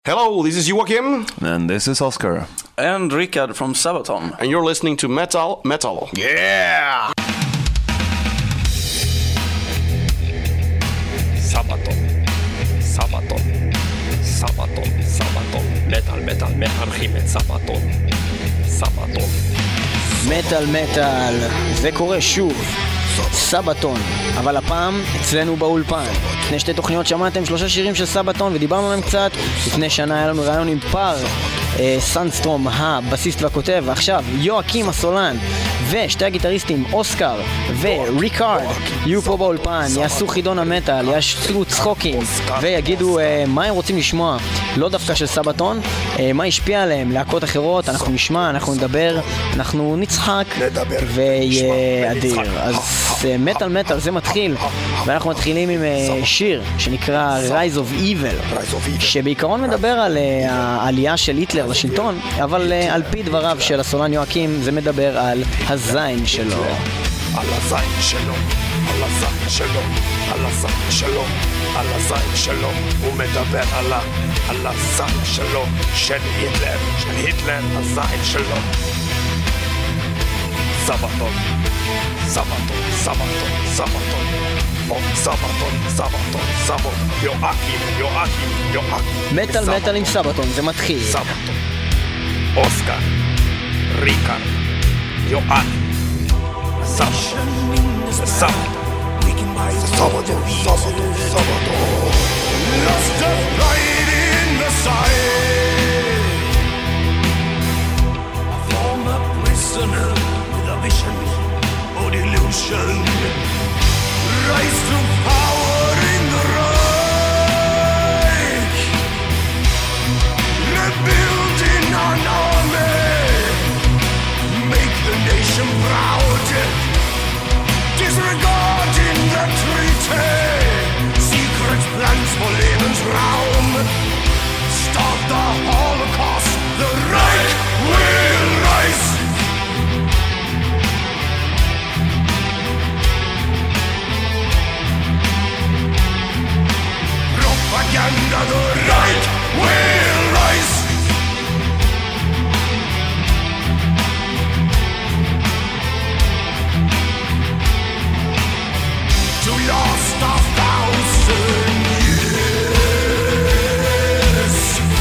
Hello, this is Joachim. And this is Oscar. And Richard from Sabaton. And you're listening to Metal. Yeah! Sabaton. Metal, חימת סבתון. מטל, זה קורה שוב. סבתון, אבל הפעם אצלנו באולפן. לפני שתי תוכניות שמעתם 3 שירים של סבתון ודיברנו עליהם קצת. לפני שנה היה לנו רעיון עם פאר, סנסטרום הבסיסט והכותב, ועכשיו יואקים הסולן ושתי הגיטריסטים אוסקר וריקארד יהיו פה באולפן, יעשו חידון המטל, יעשו צחוקים ויגידו מה הם רוצים לשמוע, לא דווקא של סבתון, מה השפיע עליהם, להקות אחרות, אנחנו נשמע, אנחנו נדבר, אנחנו נצחק ויהיה אדיר. אז מטל זה מתחיל, ואנחנו מתחילים עם שיר שנקרא Rise of Evil, שבעיקרון מדבר על העלייה של היטלר לשלטון, אבל על פי דבריו של הסולן יואקים זה מדבר על הזין שלו. על הזין שלו, על הזין שלו, על הזין שלו, על הזין שלו, הוא מדבר על הזין שלו, של היטלר, הזין שלו. סבתון, יואקים. מטל עם סבתון, זה מתחיל. סבתון, אוסקר, ריקארד, יואקים, סבתון. Lost a light in the side, a former prisoner with a vision or delusion, rise to power in the Reich, rebuilding an army, make the nation proud, disregarding the treaty, secret plans for Lebensraum, start the Holocaust, the Reich will rise. Propaganda, the Reich will rise. To last 1,000 years.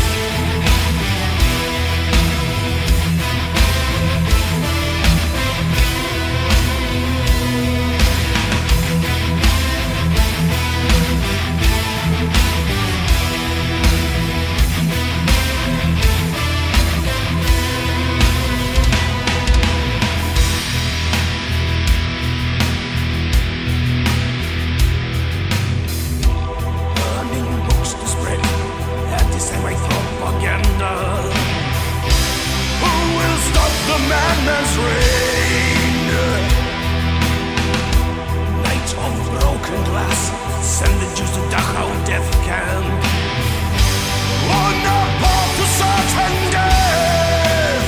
Burning books to spread anti-Semite propaganda. Who will stop the madman's reign? Night of broken glass, send the Jews to Dachau death camp. On the path to certain death,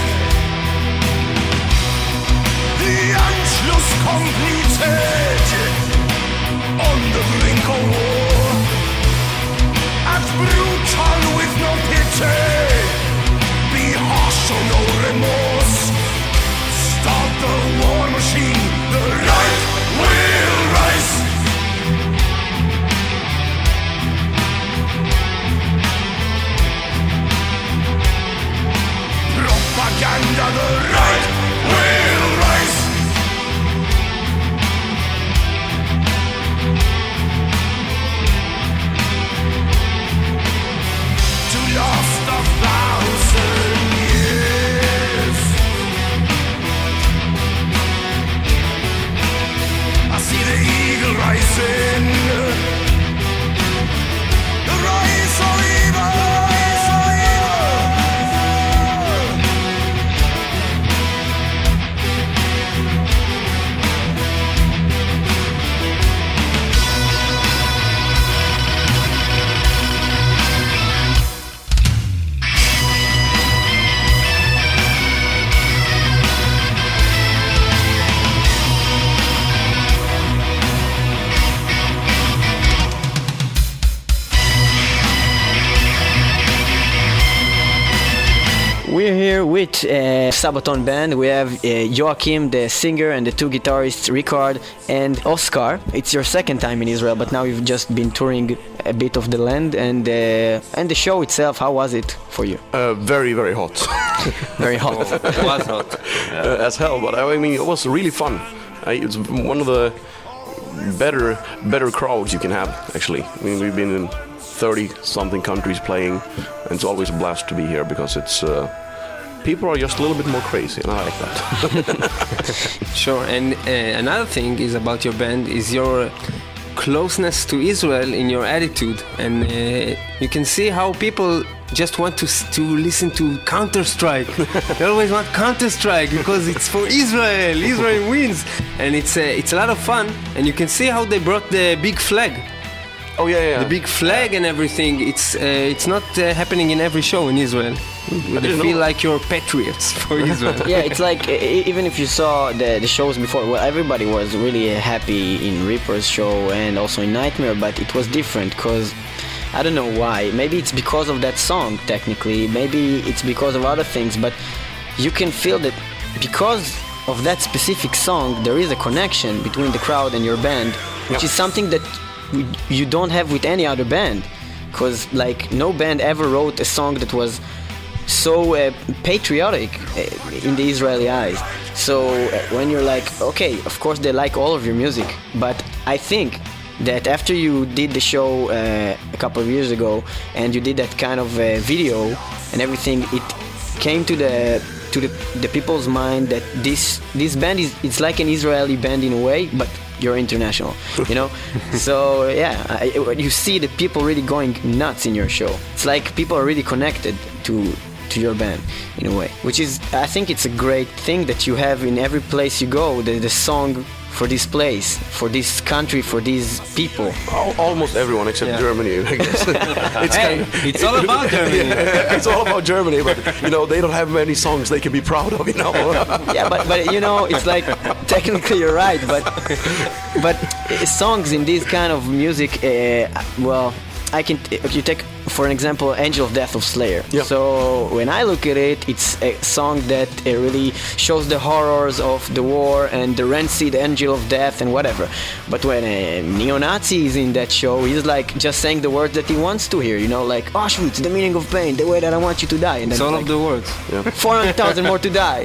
the Anschluss completed, on the brink of war, as brutal with no pity, be harsh, show no remorse, start the war machine, the Reich will rise. Propaganda, the Reich will rise. To last 1,000 years. I see the eagle rising, the rise of evil. We're here with Sabaton Band. We have Joachim, the singer, and the two guitarists, Ricard and Oscar. It's your second time in Israel, but now you've just been touring a bit of the land. And the show itself, how was it for you? Very, very hot. Very hot. It was hot. As hell, but I mean, it was really fun. It's one of the better crowds you can have, actually. I mean, we've been in 30-something countries playing, and it's always a blast to be here because it's people are just a little bit more crazy, and I like that. Sure, and another thing is about your band is your closeness to Israel in your attitude, and you can see how people just want to listen to Counter-Strike. They always want Counter-Strike because it's for Israel. Israel wins, and it's a lot of fun, and you can see how they brought the big flag. Oh yeah. The big flag and everything. It's not happening in every show in Israel. They feel like you're patriots for Israel. Yeah, it's like even if you saw the shows before, well, everybody was really happy in Reaper's show and also in Nightmare, but it was different because I don't know why. Maybe it's because of that song, technically. Maybe it's because of other things, but you can feel that because of that specific song, there is a connection between the crowd and your band, which is something that you don't have with any other band, because like no band ever wrote a song that was so patriotic in the Israeli eyes. So when you're like, okay, of course they like all of your music, but I think that after you did the show a couple of years ago and you did that kind of video and everything, it came to the people's mind that this band it's like an Israeli band in a way, but you're international, you know. So yeah, you see the people really going nuts in your show. It's like people are really connected to your band in a way, which is, I think it's a great thing that you have in every place you go, the song for this place, for this country, for these people. Almost everyone except Germany, I guess. It's all about Germany. Yeah, it's all about Germany, but you know they don't have many songs they can be proud of, you know. Yeah, but you know, it's like technically you're right, but songs in this kind of music, well, you take for an example Angel of Death of Slayer. Yep. So when I look at it, it's a song that really shows the horrors of the war and the rancid Angel of Death and whatever. But when a neo-Nazi is in that show, he's like just saying the words that he wants to hear, you know, like Auschwitz, the meaning of pain, the way that I want you to die. And it's all of the words. 400,000 more to die.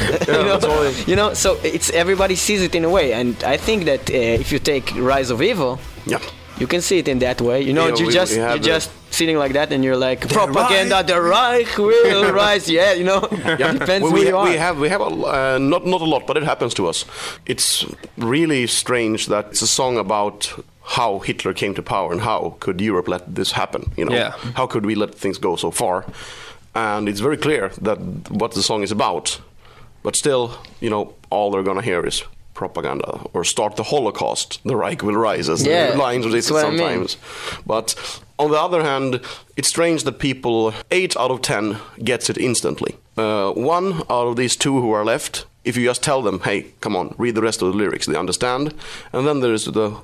You know, so it's everybody sees it in a way, and I think that if you take Rise of Evil, you can see it in that way. You know, you're just sitting like that and you're like, propaganda, the Reich will rise. Yeah, you know, depends who you are. We have not a lot, but it happens to us. It's really strange that it's a song about how Hitler came to power and how could Europe let this happen, you know. How could we let things go so far? And it's very clear that what the song is about, but still, you know, all they're gonna hear is propaganda or start the Holocaust, the Reich will rise, as the lines of it sometimes. But on the other hand, it's strange that people 8 out of 10 gets it instantly. 1 out of these 2 who are left, if you just tell them, hey, come on, read the rest of the lyrics, they understand. And then there's the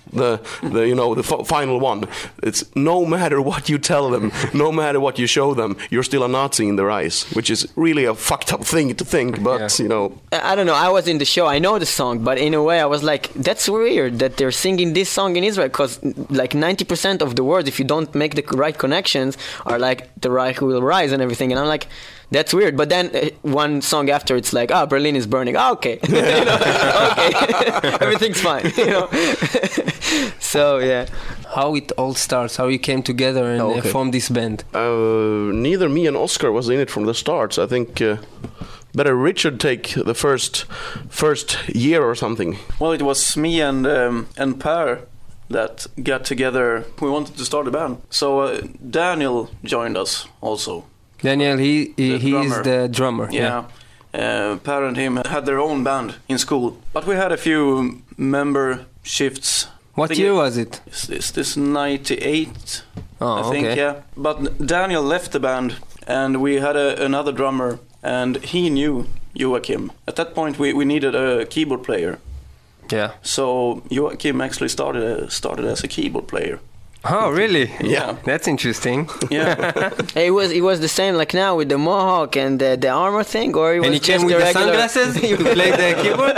final one. It's no matter what you tell them, no matter what you show them, you're still a Nazi in their eyes, which is really a fucked up thing to think, but, you know. I don't know, I was in the show, I know the song, but in a way I was like, that's weird that they're singing this song in Israel, because like 90% of the words, if you don't make the right connections, are like, the Reich will rise and everything, and I'm like, that's weird. But then one song after, it's like, Berlin is burning. Okay. You know? Okay. Everything's fine. You know? So, yeah. How it all starts, how you came together and formed this band? Neither me and Oscar was in it from the start. So I think better Richard take the first year or something. Well, it was me and Per that got together. We wanted to start a band. So Daniel joined us also. Daniel, he is the drummer. Yeah. Per and him had their own band in school. But we had a few member shifts. What year was it? This 98, I think, yeah. But Daniel left the band, and we had another drummer, and he knew Joachim. At that point, we needed a keyboard player. Yeah. So Joachim actually started as a keyboard player. Oh, really? Yeah. That's interesting. Yeah. It was the same like now with the mohawk and the armor thing, or it was and he just came with the regular... sunglasses? You played the keyboard?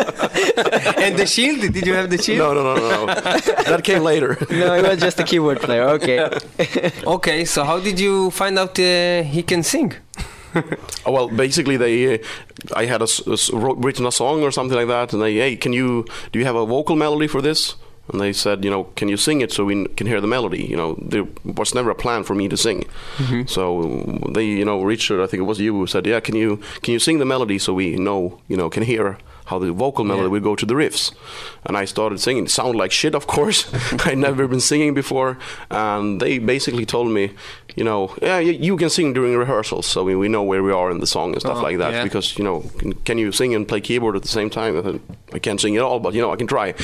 And the shield? Did you have the shield? No. That came later. No, he was just a keyboard player. Okay. Okay, so how did you find out he can sing? Well, basically, I had written a song or something like that, and hey, do you have a vocal melody for this? And they said, can you sing it so we can hear the melody? There was never a plan for me to sing. Mm-hmm. So they, Richard, I think it was you, who said, yeah, can you sing the melody so we can hear how the vocal melody will go to the riffs? And I started singing. It sounded like shit, of course. I'd never been singing before. And they basically told me, yeah, you can sing during rehearsals, so we know where we are in the song and stuff like that. Yeah. Because, can you sing and play keyboard at the same time? I thought, I can't sing at all, but, I can try.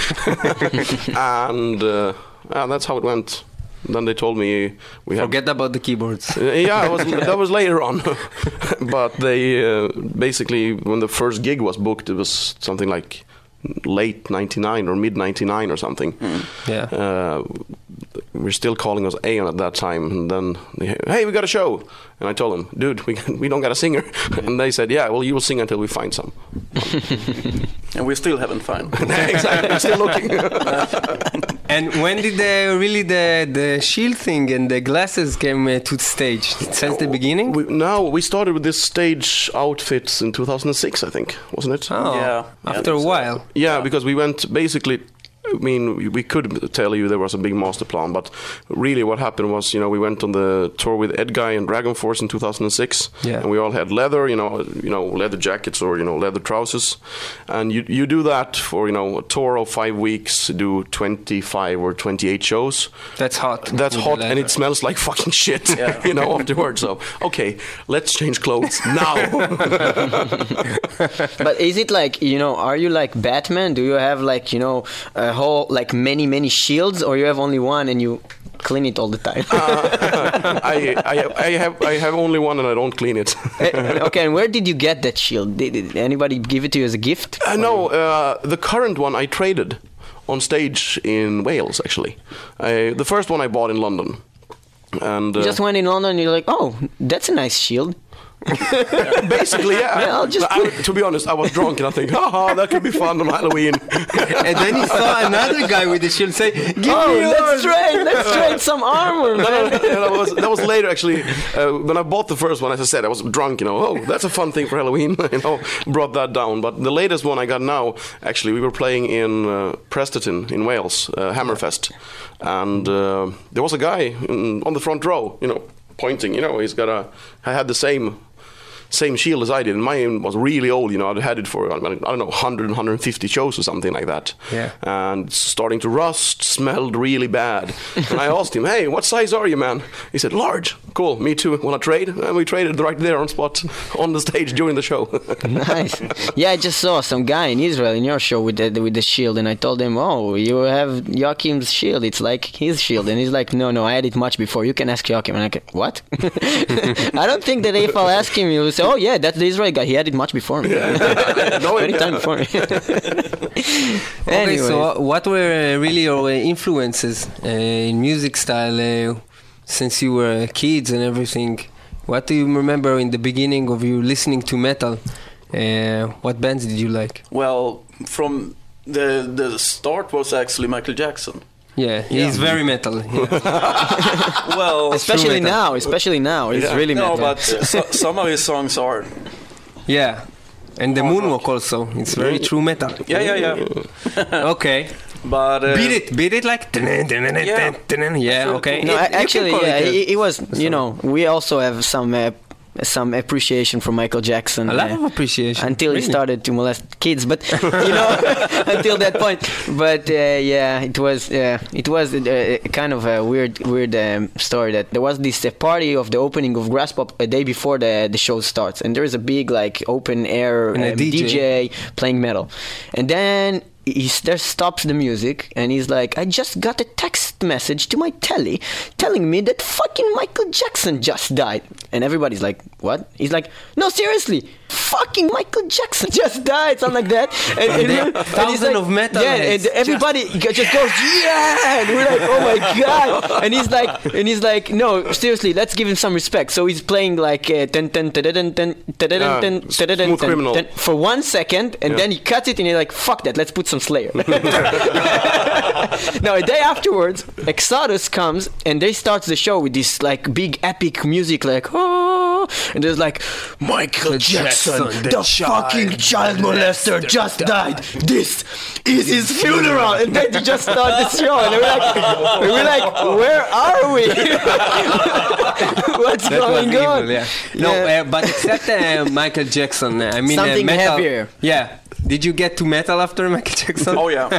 And that's how it went. Then they told me forget about the keyboards. That was later on. But they basically, when the first gig was booked, it was something like late 99 or mid 99 or something. Yeah. We're still calling us Aeon at that time, and then hey, we got a show. And I told them, dude, we don't got a singer. And they said, yeah, well, you will sing until we find some. And we still haven't found. Exactly, we're still looking. And when did the shield thing and the glasses came to the stage? Since the beginning? We started with this stage outfits in 2006, I think, wasn't it? Oh, yeah. After a while. Yeah, because we went basically... I mean, we could tell you there was a big master plan, but really what happened was, we went on the tour with Edguy and Dragon Force in 2006, and we all had leather, leather jackets or, leather trousers. And you do that for, a tour of 5 weeks, do 25 or 28 shows. That's hot. That's hot, and it smells like fucking shit, afterwards. So, okay, let's change clothes now. But is it like, are you like Batman? Do you have like, a whole like many shields, or you have only one and you clean it all the time? I have only one and I don't clean it. Okay, and where did you get that shield? Did anybody give it to you as a gift? No, the current one I traded on stage in Wales, actually. The first one I bought in London. And you just went in London and you're like, oh, that's a nice shield. Basically, yeah. To be honest, I was drunk and I think, that could be fun on Halloween. And then he saw another guy with the shield say, let's trade some armor, man. That was later, actually. When I bought the first one, as I said, I was drunk, that's a fun thing for Halloween, brought that down. But the latest one I got now, actually, we were playing in Presterton in Wales, Hammerfest. And there was a guy on the front row, pointing, I had the same shield as I did, and mine was really old, I'd had it for, I don't know, 100, 150 shows or something like that. Yeah. And starting to rust, smelled really bad. And I asked him, hey, what size are you, man? He said, large. Cool, me too. Want to trade? And we traded right there on spot, on the stage during the show. Nice. Yeah, I just saw some guy in Israel in your show with the shield, and I told him, oh, you have Joachim's shield. It's like his shield. And he's like, no, I had it much before. You can ask Joachim. And I'm like, what? I don't think that if I'll ask him, he'll say, oh yeah, that's the Israeli guy. He had it much before me. Many times before me. Okay, so what were really your influences in music style since you were kids and everything? What do you remember in the beginning of you listening to metal? What bands did you like? Well, from the start was actually Michael Jackson. Yeah, he's very metal. Yeah. Well, especially now, he's really metal. No, but some of his songs are. Yeah, and the moonwalk also. It's very true metal. Yeah. Okay. But beat it like yeah. Okay. No, actually, it was. We also have some appreciation for Michael Jackson. A lot of appreciation. Until he started to molest kids, but until that point. But it was kind of a weird story that there was this party of the opening of Graspop a day before the show starts, and there is a big like open air DJ playing metal, and then he stops the music and he's like, I just got a text message to my telly telling me that fucking Michael Jackson just died. And everybody's like, what? He's like, no, seriously, fucking Michael Jackson just died, something like that. And thousands of metal. Yeah, and everybody just goes, yeah, and we're like, oh my god. And he's like, no, seriously, let's give him some respect. So he's playing like Smooth Criminal for 1 second, and then he cuts it, and he's like, fuck that, let's put some Slayer. Now a day afterwards, Exodus comes, and they start the show with this like big epic music, like oh, and there's like Michael Jackson, the fucking child molester, just died. This is his funeral, and then they just start the show, and we're like, where are we? What's going on? Evil, yeah. No, but except Michael Jackson, I mean something metal, heavier. Yeah. Did you get to metal after Michael Jackson? Oh yeah.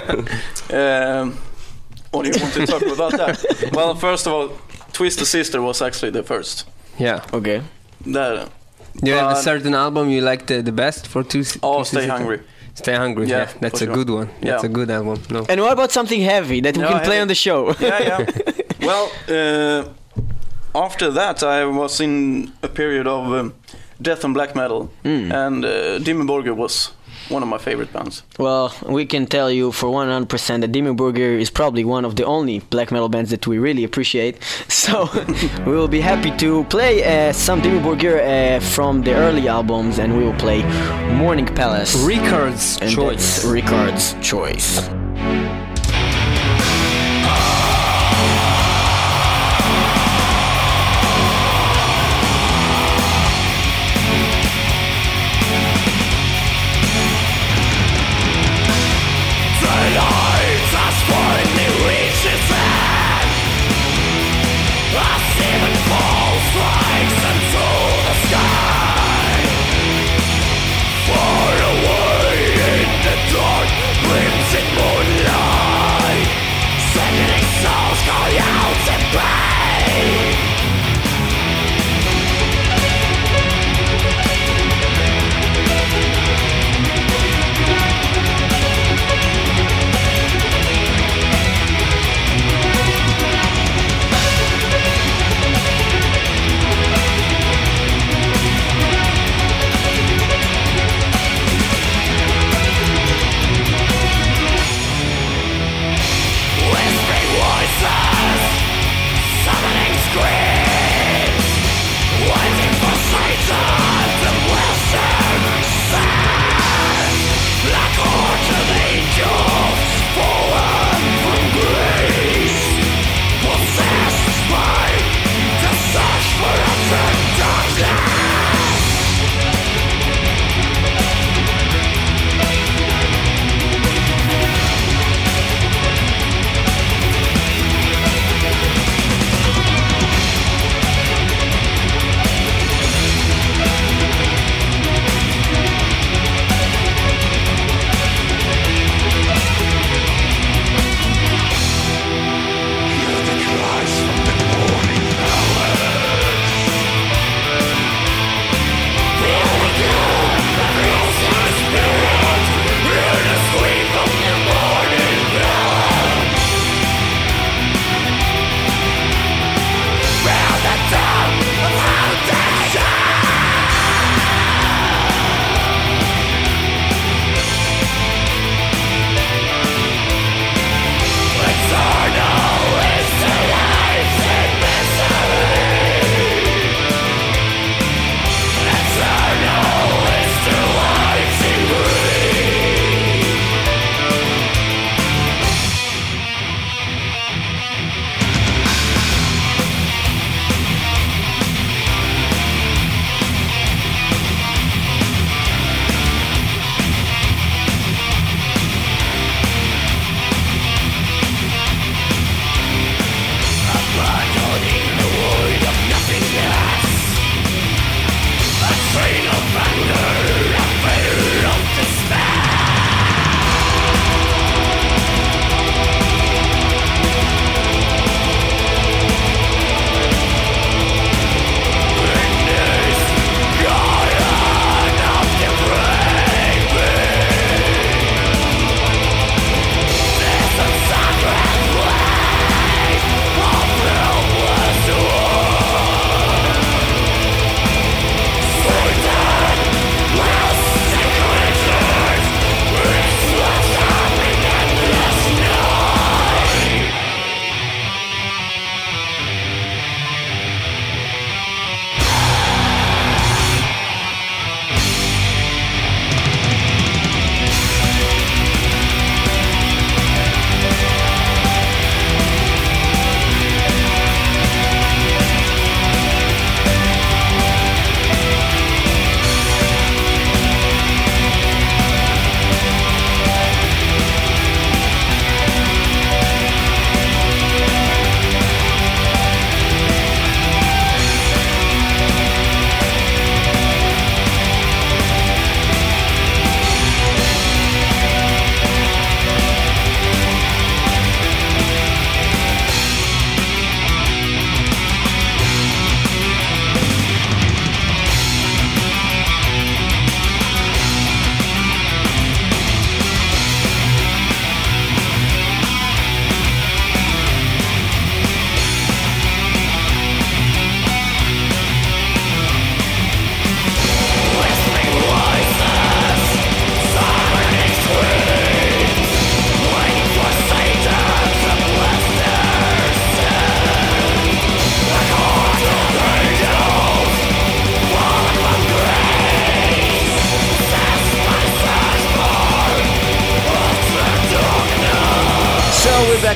What do you want to talk about that? Well, first of all, Twisted Sister was actually the first. Yeah. Okay. That. Do you have a certain album you liked the best for Stay Hungry. Stay Hungry, yeah. That's a good one. That's a good album. No. And what about something heavy that we can play on the show? Yeah. Well, after that, I was in a period of death and black metal, and Dimmu Borgir was one of my favorite bands. Well, we can tell you for 100% that Dimmu Borgir is probably one of the only black metal bands that we really appreciate. So we will be happy to play some Dimmu Borgir from the early albums, and we will play Morning Palace. Ricard's Choice. Ricard's Choice. Far away in the dark, crimson moon.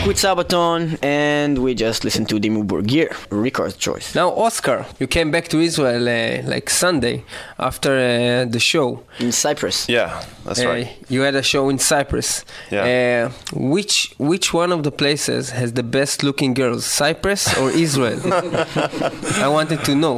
back with Sabaton, and we just listened to Dimmu Borgir, Ricard's choice. Now, Oscar, you came back to Israel like Sunday after the show. In Cyprus. Yeah, that's right. You had a show in Cyprus. Yeah. Which one of the places has the best looking girls, Cyprus or Israel? I wanted to know.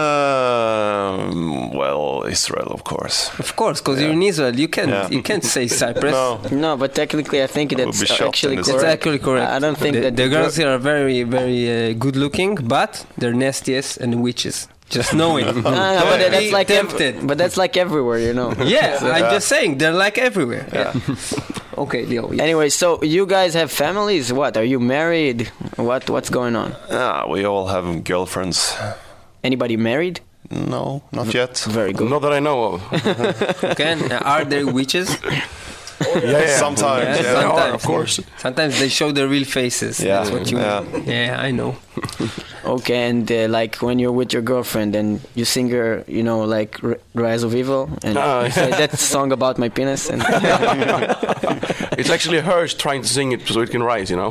Well, Israel, of course. Of course, because you're in Israel. You can't say Cyprus. No, but technically I think that's actually correct. It's actually correct. I don't think that the girls here are very, very good looking, but they're nastiest and witches. Just know it. But that's like but that's like everywhere, you know. Yeah, I'm just saying they're like everywhere. Yeah. Okay, Leo. Yes. Anyway, so you guys have families? What? Are you married? What's going on? We all have girlfriends. Anybody married? No, not yet. Very good. Not that I know of. Okay, are there witches? Sometimes, sometimes, of course. Sometimes they show their real faces. Yeah, that's what you mean. Yeah, I know. Okay, and like when you're with your girlfriend and you sing her, you know, like Rise of Evil, and you say that song about my penis. And it's actually hers trying to sing it so it can rise, you know.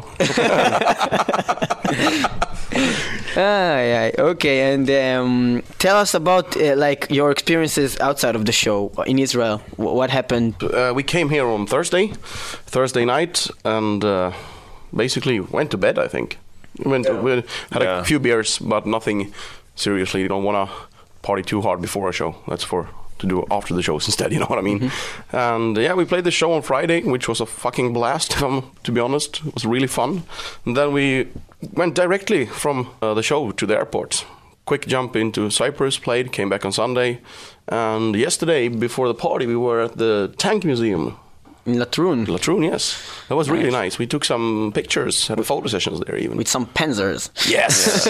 Yeah. Okay, and tell us about like your experiences outside of the show in Israel. What happened? We came here on Thursday night, and basically went to bed, I think. We had a few beers, but nothing seriously. You don't want to party too hard before a show. That's to do after the shows instead, you know what I mean? Mm-hmm. And we played the show on Friday, which was a fucking blast, to be honest. It was really fun. And then we went directly from the show to the airport. Quick jump into Cyprus, played, came back on Sunday. And yesterday, before the party, we were at the Tank Museum. In Latrun? Latrun, yes. That was really nice. We took some pictures, had photo sessions there even. With some Panzers. Yes.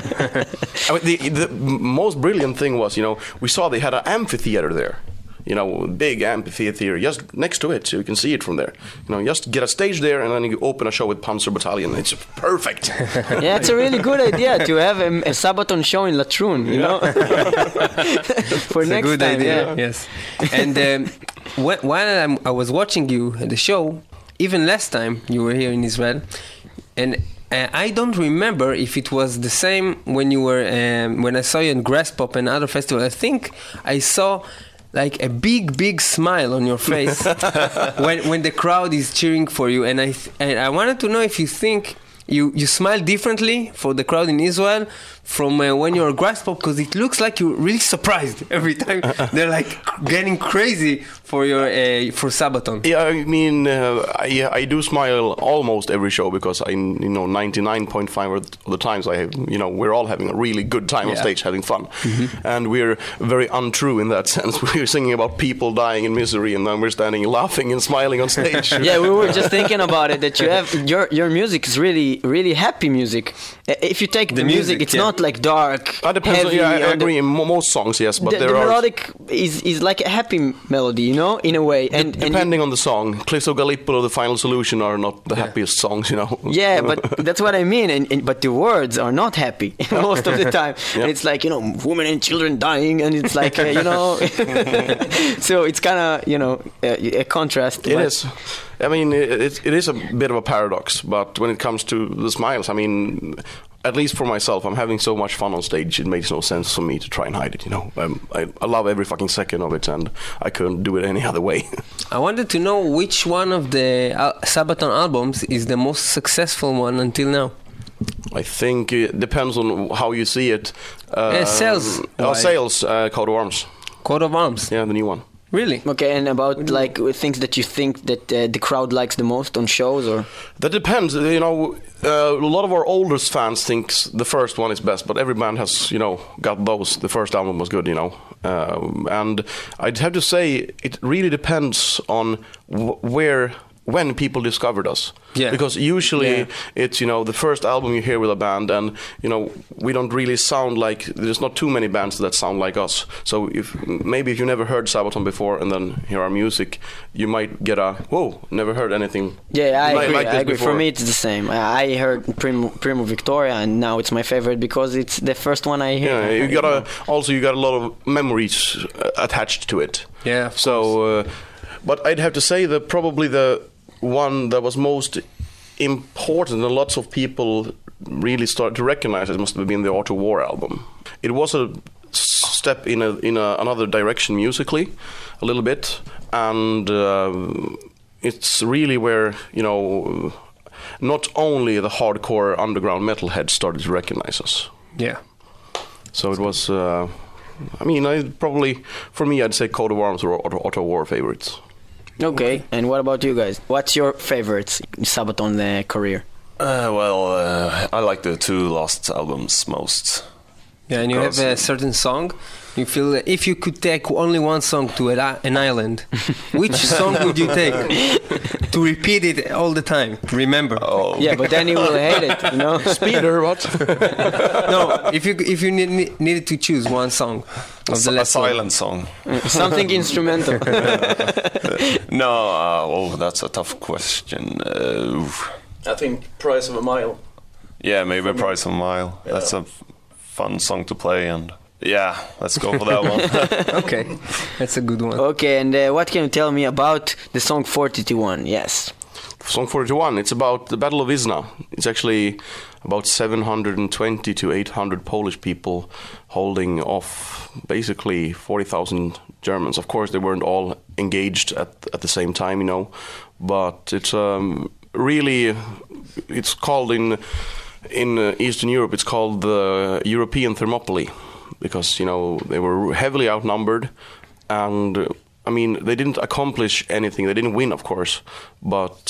I mean, the most brilliant thing was, you know, we saw they had an amphitheater there. You know, big amphitheater just next to it, so you can see it from there. You know, just get a stage there, and then you open a show with Panzer Battalion. It's perfect. Yeah, it's a really good idea to have a Sabaton show in Latrun, you know? For it's next a good time, idea. Yes. And while I was watching you at the show, even last time you were here in Israel, and I don't remember if it was the same when you were when I saw you in Graspop and other festivals. I think I saw like a big smile on your face when the crowd is cheering for you, and I wanted to know if you think you smile differently for the crowd in Israel from when you're a Graspop, because it looks like you're really surprised every time. They're like getting crazy for for Sabaton. Yeah, I mean, I do smile almost every show, because 99.5 of the times we're all having a really good time on stage, having fun, and we're very untrue in that sense. We're singing about people dying in misery, and then we're standing laughing and smiling on stage. Yeah, we were just thinking about it, that you have your music is really happy music. If you take the music, it's not like dark, heavy. I agree. In most songs, yes, but the melodic is like a happy melody, you know, in a way. And depending on the song, Cliffs of Gallipoli or The Final Solution are not the happiest songs, you know. Yeah, but that's what I mean. But the words are not happy most of the time. Yep. And it's like, you know, women and children dying, and it's like, you know. So it's kind of, you know, a contrast. It is. I mean, it is a bit of a paradox, but when it comes to the smiles, I mean, at least for myself, I'm having so much fun on stage, it makes no sense for me to try and hide it, you know. I love every fucking second of it, and I couldn't do it any other way. I wanted to know which one of the Sabaton albums is the most successful one until now. I think it depends on how you see it. Sales. Sales, Coat of Arms. Coat of Arms? Yeah, the new one. Really? Okay, and about like things that you think that the crowd likes the most on shows, or? That depends. You know, a lot of our oldest fans thinks the first one is best, but every band has, you know, got those. The first album was good, you know. And I'd have to say it really depends on when people discovered us. Yeah. Because usually it's, you know, the first album you hear with a band, and, you know, we don't really sound like, there's not too many bands that sound like us. So if you never heard Sabaton before and then hear our music, you might get whoa, never heard anything. Yeah, I agree. For me it's the same. I heard Primo Victoria, and now it's my favorite because it's the first one I hear. Yeah, you got a lot of memories attached to it. Yeah. So, but I'd have to say that probably the one that was most important, and lots of people really started to recognize it must have been the Art of War album. It was a step in another direction musically, a little bit, and it's really where, you know, not only the hardcore underground metalheads started to recognize us. Yeah. So it was, I mean, for me, I'd say Coat of Arms or Art of War favorites. Okay, and what about you guys? What's your favorites in Sabaton career? I like the two last albums most. Yeah, and you have a certain song. You feel that if you could take only one song to an island, which song would you take to repeat it all the time? Remember? Oh. Yeah, but then you will hate it, you know. Speeder, what? No, if you needed to choose one song of the last silent song. Something instrumental. No, that's a tough question. I think Price of a Mile. Yeah, maybe Price of a Mile. Yeah. That's a fun song to play, and yeah, let's go for that one. Okay, that's a good one. Okay, and what can you tell me about the song 421? Yes. Song 421, it's about the Battle of Wizna. It's actually about 720 to 800 Polish people holding off basically 40,000 Germans. Of course, they weren't all engaged at the same time, you know, but it's really, it's called in Eastern Europe, it's called the European Thermopylae, because, you know, they were heavily outnumbered, and I mean, they didn't accomplish anything. They didn't win, of course, but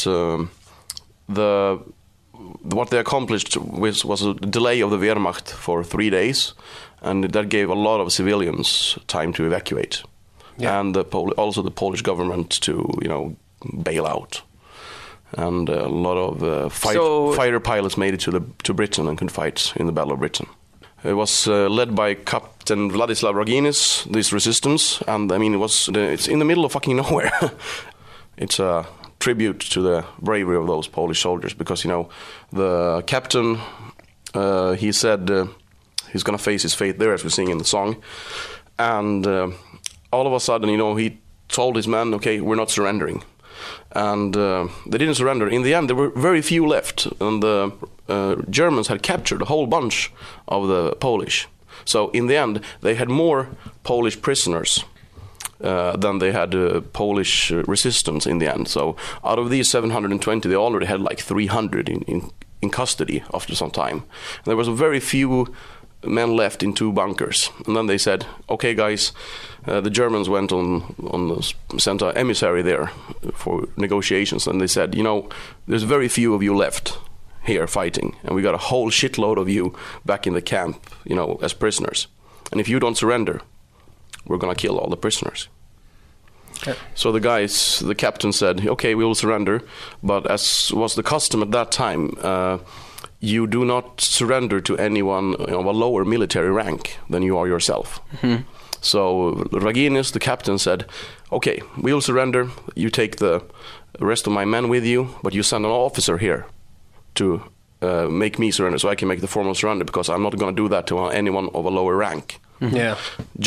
what they accomplished was a delay of the Wehrmacht for 3 days, and that gave a lot of civilians time to evacuate, and also the Polish government to, you know, bail out. And a lot of fighter pilots made it to Britain and could fight in the Battle of Britain. It was led by Captain Vladislav Raginis, this resistance, and I mean it's in the middle of fucking nowhere. It's a tribute to the bravery of those Polish soldiers, because, you know, the captain, he said he's gonna face his fate there, as we sing in the song, and all of a sudden, you know, he told his men, okay, we're not surrendering. And they didn't surrender. In the end, there were very few left, and the Germans had captured a whole bunch of the Polish. So in the end, they had more Polish prisoners than they had Polish resistance in the end. So out of these 720, they already had like 300 in custody after some time. And there was very few men left in 2 bunkers. And then they said, okay, guys, the Germans went sent an emissary there for negotiations, and they said, you know, there's very few of you left here fighting, and we got a whole shitload of you back in the camp, you know, as prisoners. And if you don't surrender, we're gonna kill all the prisoners. Okay. So the captain said, okay, we will surrender, but as was the custom at that time, you do not surrender to anyone of a lower military rank than you are yourself. Mm-hmm. So Raginis, the captain, said, okay, we'll surrender. You take the rest of my men with you, but you send an officer here to make me surrender, so I can make the formal surrender, because I'm not going to do that to anyone of a lower rank. Mm-hmm. Yeah.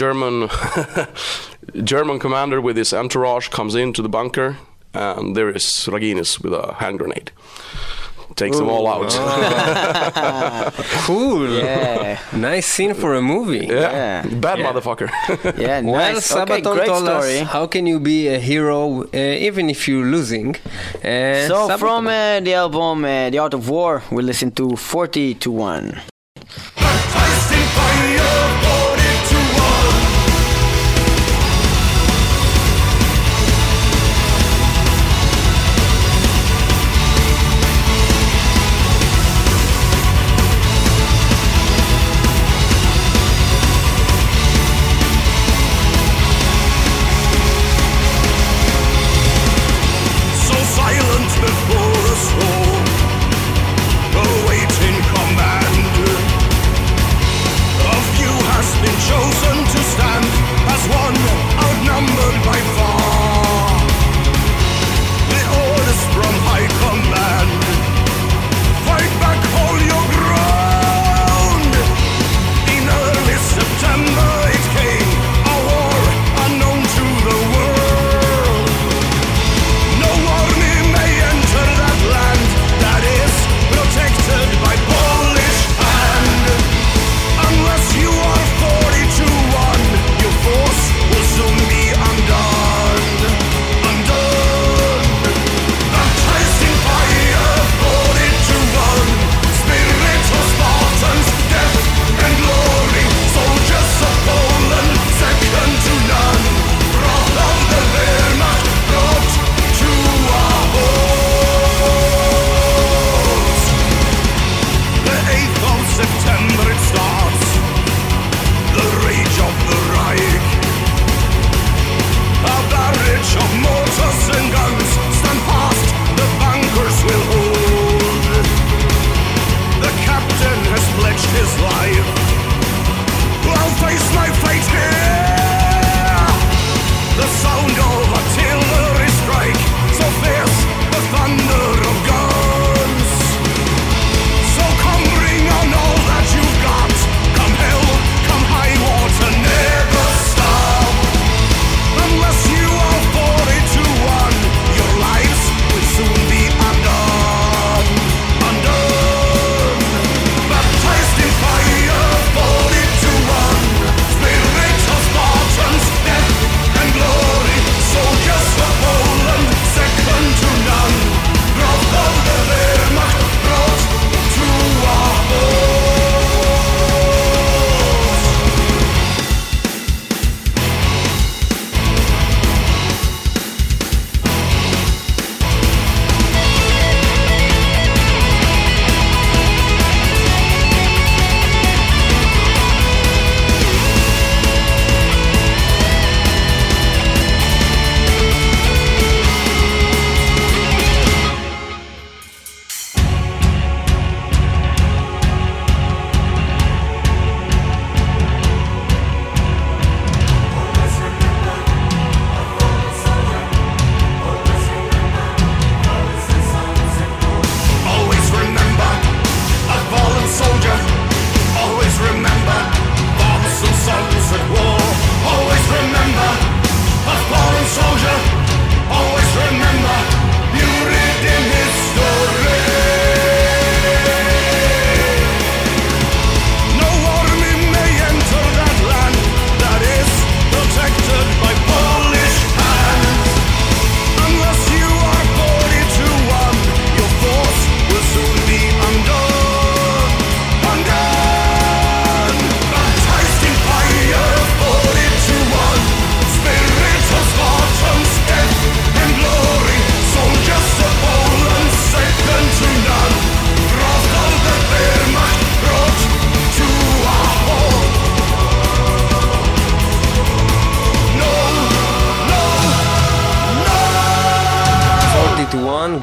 German commander with his entourage comes into the bunker, and there is Raginis with a hand grenade. Takes them all out. Oh. Cool. Yeah. Nice scene for a movie. Yeah. Bad motherfucker. Yeah, nice. Well, okay, Sabaton great told story. us how can you be a hero even if you're losing. So Sabaton. From the album The Art of War, we listen to 40-1. Before the storm, awaiting command.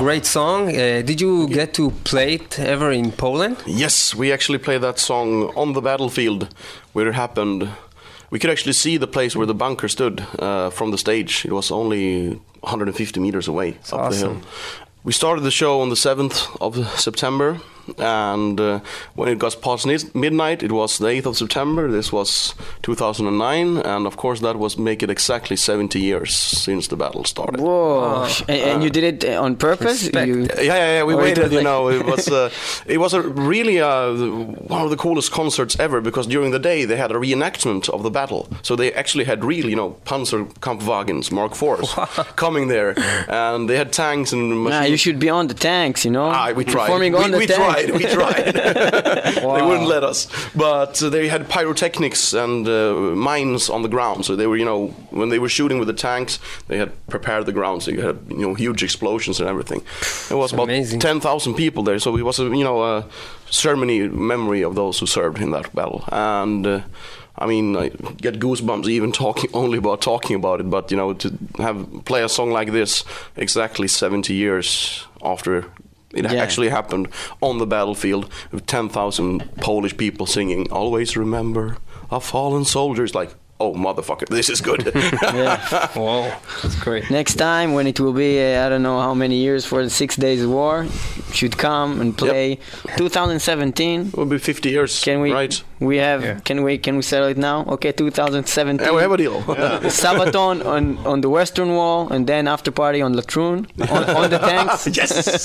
great song. Did you get to play it ever in Poland? Yes, we actually played that song on the battlefield where it happened. We could actually see the place where the bunker stood from the stage. It was only 150 meters away up the hill. We started the show on the 7th of September, and when it got past midnight, it was the 8th of September. This was 2009, and of course that was make it exactly 70 years since the battle started. Whoa! And you did it on purpose? Yeah. We waited. You know, it was a really one of the coolest concerts ever, because during the day they had a reenactment of the battle. So they actually had real, Panzerkampfwagens Mark IVs coming there, and they had tanks and machines. You should be on the tanks, you know. We tried. We tried. Wow. They wouldn't let us. But they had pyrotechnics and mines on the ground. So they were, when they were shooting with the tanks, they had prepared the ground. So you had, huge explosions and everything. It was about 10,000 people there. So it was a ceremony memory of those who served in that battle. And I get goosebumps even talking about it. But to play a song like this exactly 70 years after it actually happened on the battlefield with 10,000 Polish people singing "Always Remember Our Fallen Soldiers," like, oh motherfucker, this is good. Wow, that's great. Next time when it will be I don't know how many years for the 6 Days War, should come and play. 2017 will be 50 years. Can we? Right. We have. Can we settle it now? Okay, 2017. Yeah, we have a deal. Sabaton on the Western Wall, and then after party on Latrun on the tanks. Yes.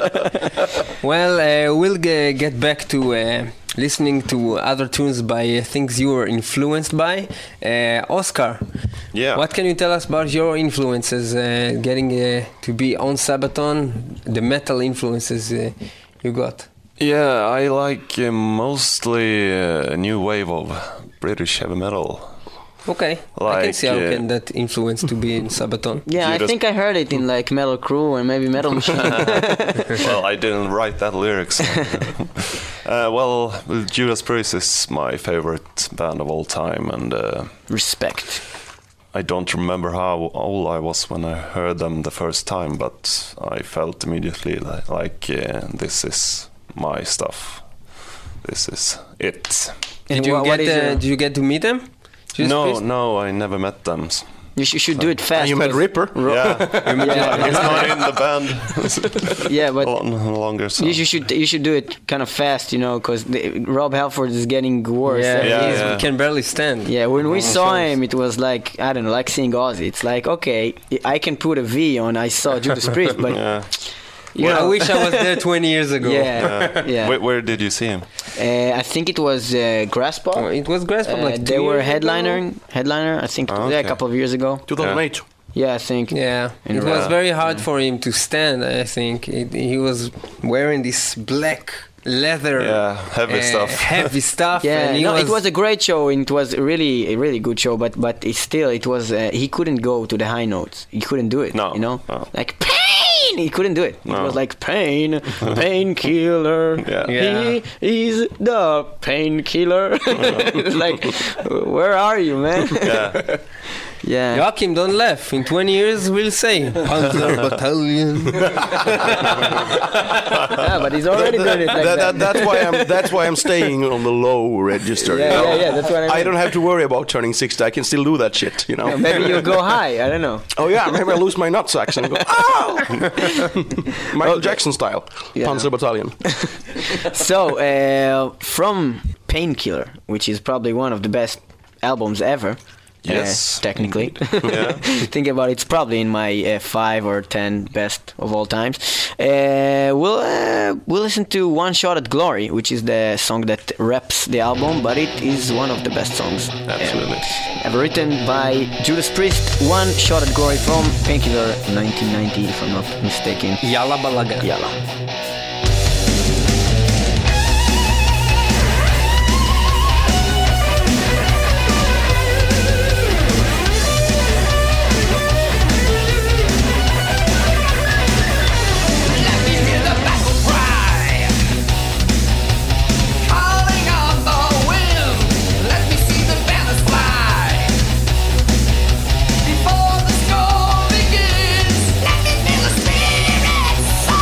Well, we'll get back to listening to other tunes by things you were influenced by. Oscar, what can you tell us about your influences, getting to be on Sabaton, the metal influences you got? Yeah, I like mostly a new wave of British heavy metal. Okay, I can see how can that influence to be in Sabaton. Yeah, I think I heard it in like Metal Crew or maybe Metal Machine. Well, I didn't write that lyrics. Well, Judas Priest is my favorite band of all time, and respect. I don't remember how old I was when I heard them the first time, but I felt immediately like this is my stuff. This is it. Did you get to meet them? No, I never met them. You should do it fast. You met Ripper? Yeah. He's not in the band. Yeah, but longer. So. You should do it kind of fast, because Rob Halford is getting worse. He can barely stand. Yeah, when we saw him, it was like, I don't know, like seeing Ozzy. It's like, okay, I can put a V on I saw Judas Priest, but... I wish I was there 20 years ago. Yeah. Where did you see him? I think it was Graspop. Oh, it was Graspop. They were headliner. I think a couple of years ago. 2008. Yeah, I think. Yeah, it was very hard for him to stand. I think he was wearing this black leather, heavy stuff. Yeah, it was a great show. And it was a really good show. But it was he couldn't go to the high notes. He couldn't do it. No. Like pain. He couldn't do it. It was like painkiller. He is the painkiller. Like, where are you, man? Yeah. Joachim, don't laugh. In 20 years, we'll say Panzer Battalion. Yeah, but he's already done it like that. That's why I'm staying on the low register. Yeah, that's what I mean. I don't have to worry about turning 60. I can still do that shit, Maybe you'll go high. I don't know. Oh yeah, maybe I lose my nutsacks and go, oh! Michael Jackson style. Panzer Battalion. So, from Painkiller, which is probably one of the best albums ever. Yes, technically. Think about it, it's probably in my 5 or 10 best of all times. We'll listen to One Shot at Glory, which is the song that wraps the album, but it is one of the best songs ever written by Judas Priest. One Shot at Glory from Painkiller 1990, if I'm not mistaken. Yalla Balaga. Yalla. Before the storm begins, let me feel the spirit.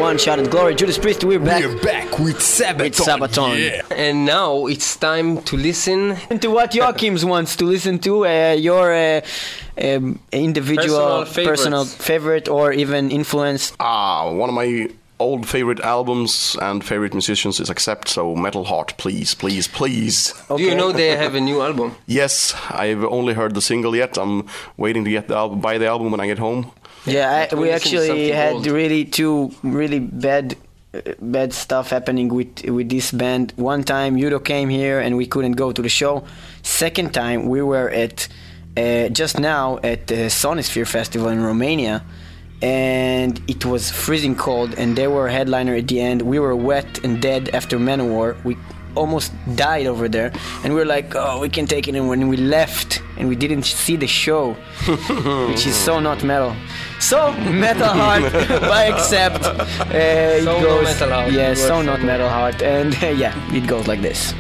one shot at glory. Judas Priest, we're back. We're back with Sabaton. Yeah. And now it's time to listen to what Joachim's wants to listen to, your individual personal favorite or even influence. One of my old favorite albums and favorite musicians is Accept, so Metal Heart, please, please, please. Okay. Do you know they have a new album? Yes, I've only heard the single yet. I'm waiting to get the album, buy the album when I get home. Yeah, we actually had two really bad stuff happening with this band. One time Udo came here and we couldn't go to the show. Second time we were at just now at the Sonisphere Festival in Romania, and it was freezing cold and they were a headliner at the end. We were wet and dead after Manowar. We almost died over there and we were like, oh, we can take it. And when we left and we didn't see the show, which is so not metal. So Metal Heart by Accept. It goes, Metal Heart. Yeah, so not Metal Heart. And yeah, it goes like this.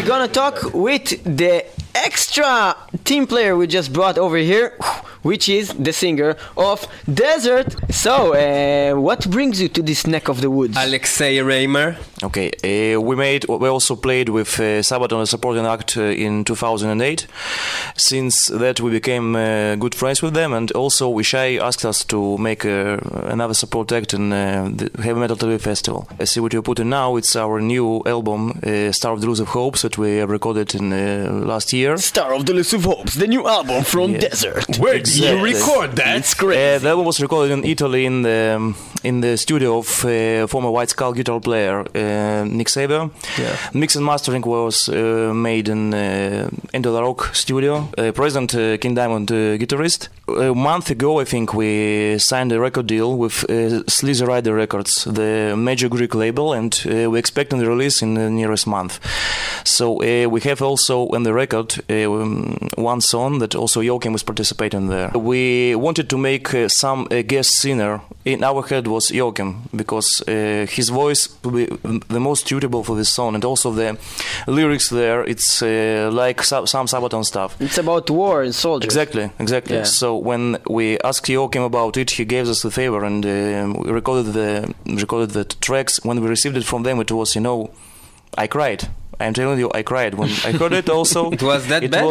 we're gonna talk with the extra team player we just brought over here, which is the singer of Desert. So, what brings you to this neck of the woods? Alexei Reimer. Okay, we also played with Sabaton as a supporting act in 2008. Since that, we became good friends with them, and also Ishai asked us to make another support act in the Heavy Metal Tel Aviv Festival. See what you're putting now, it's our new album, Star of the Elusive Hopes, that we recorded in last year. Star of the Elusive Hopes, the new album from Desert. Where did you record that? It's great. The album was recorded in Italy in the studio of former White Skull guitar player Nick Saber. Yeah. Mix and mastering was made in Endo La Rock studio. Present King Diamond guitarist. A month ago, I think, we signed a record deal with Sleazy Rider Records, the major Greek label, and we're expecting the release in the nearest month. So we have also on the record one song that also Joachim was participating there. We wanted to make some guest singer. In our head was Joachim, because his voice would be the most suitable for this song, and also the lyrics there, it's like some Sabaton stuff. It's about war and soldiers. Exactly. Yeah. So when we asked Joachim about it, he gave us the favor, and we recorded the tracks. When we received it from them, it was, I cried. I'm telling you, I cried when I heard it. Also, it was that bad?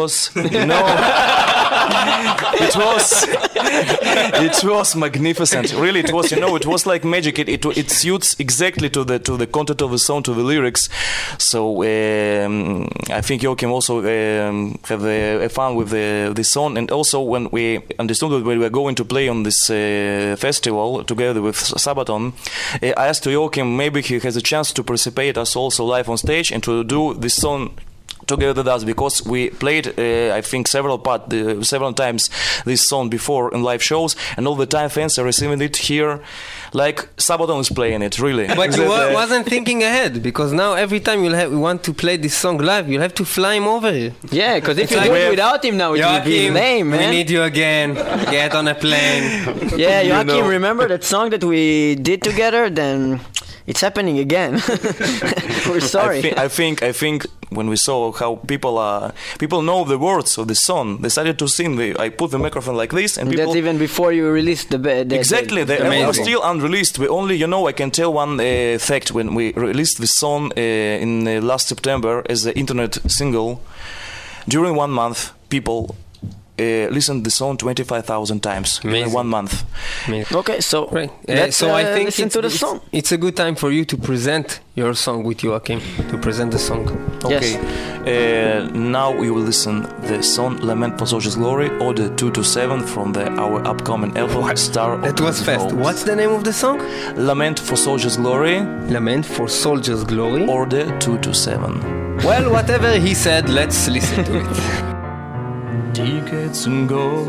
It was magnificent. Really, it was. It was like magic. It suits exactly to the content of the song, to the lyrics. So I think Joachim also have fun with this song. And also when we understood that we were going to play on this festival together with Sabaton, I asked Joachim maybe he has a chance to participate us also live on stage and to do this song together with us, because we played I think several times this song before in live shows, and all the time fans are receiving it here like Sabaton is playing it, really. But you wasn't thinking ahead, because now every time we want to play this song live, you'll have to fly him over here. Yeah, because if you do it without him now, it would be lame, man. We need you again. Get on a plane. Yeah, Joachim, remember that song that we did together? Then it's happening again. We're sorry. I think when we saw how people know the words of the song, decided to sing. I put the microphone like this, and people. That's even before you released the exactly. The album was still unreleased. We only, I can tell one fact. When we released the song in last September as the internet single, during 1 month, people listened to the song 25,000 times in 1 month. Amazing. Okay, so right. Let's I think listen to the song. It's a good time for you to present your song with Joachim, to present the song. Okay. Yes. Now we will listen the song Lament for Soldiers' Glory, Order 227 from our upcoming album Star of the That was fast. What's the name of the song? Lament for Soldiers' Glory. Lament for Soldiers' Glory. Order 227. Well, whatever he said, let's listen to it. Decades ago,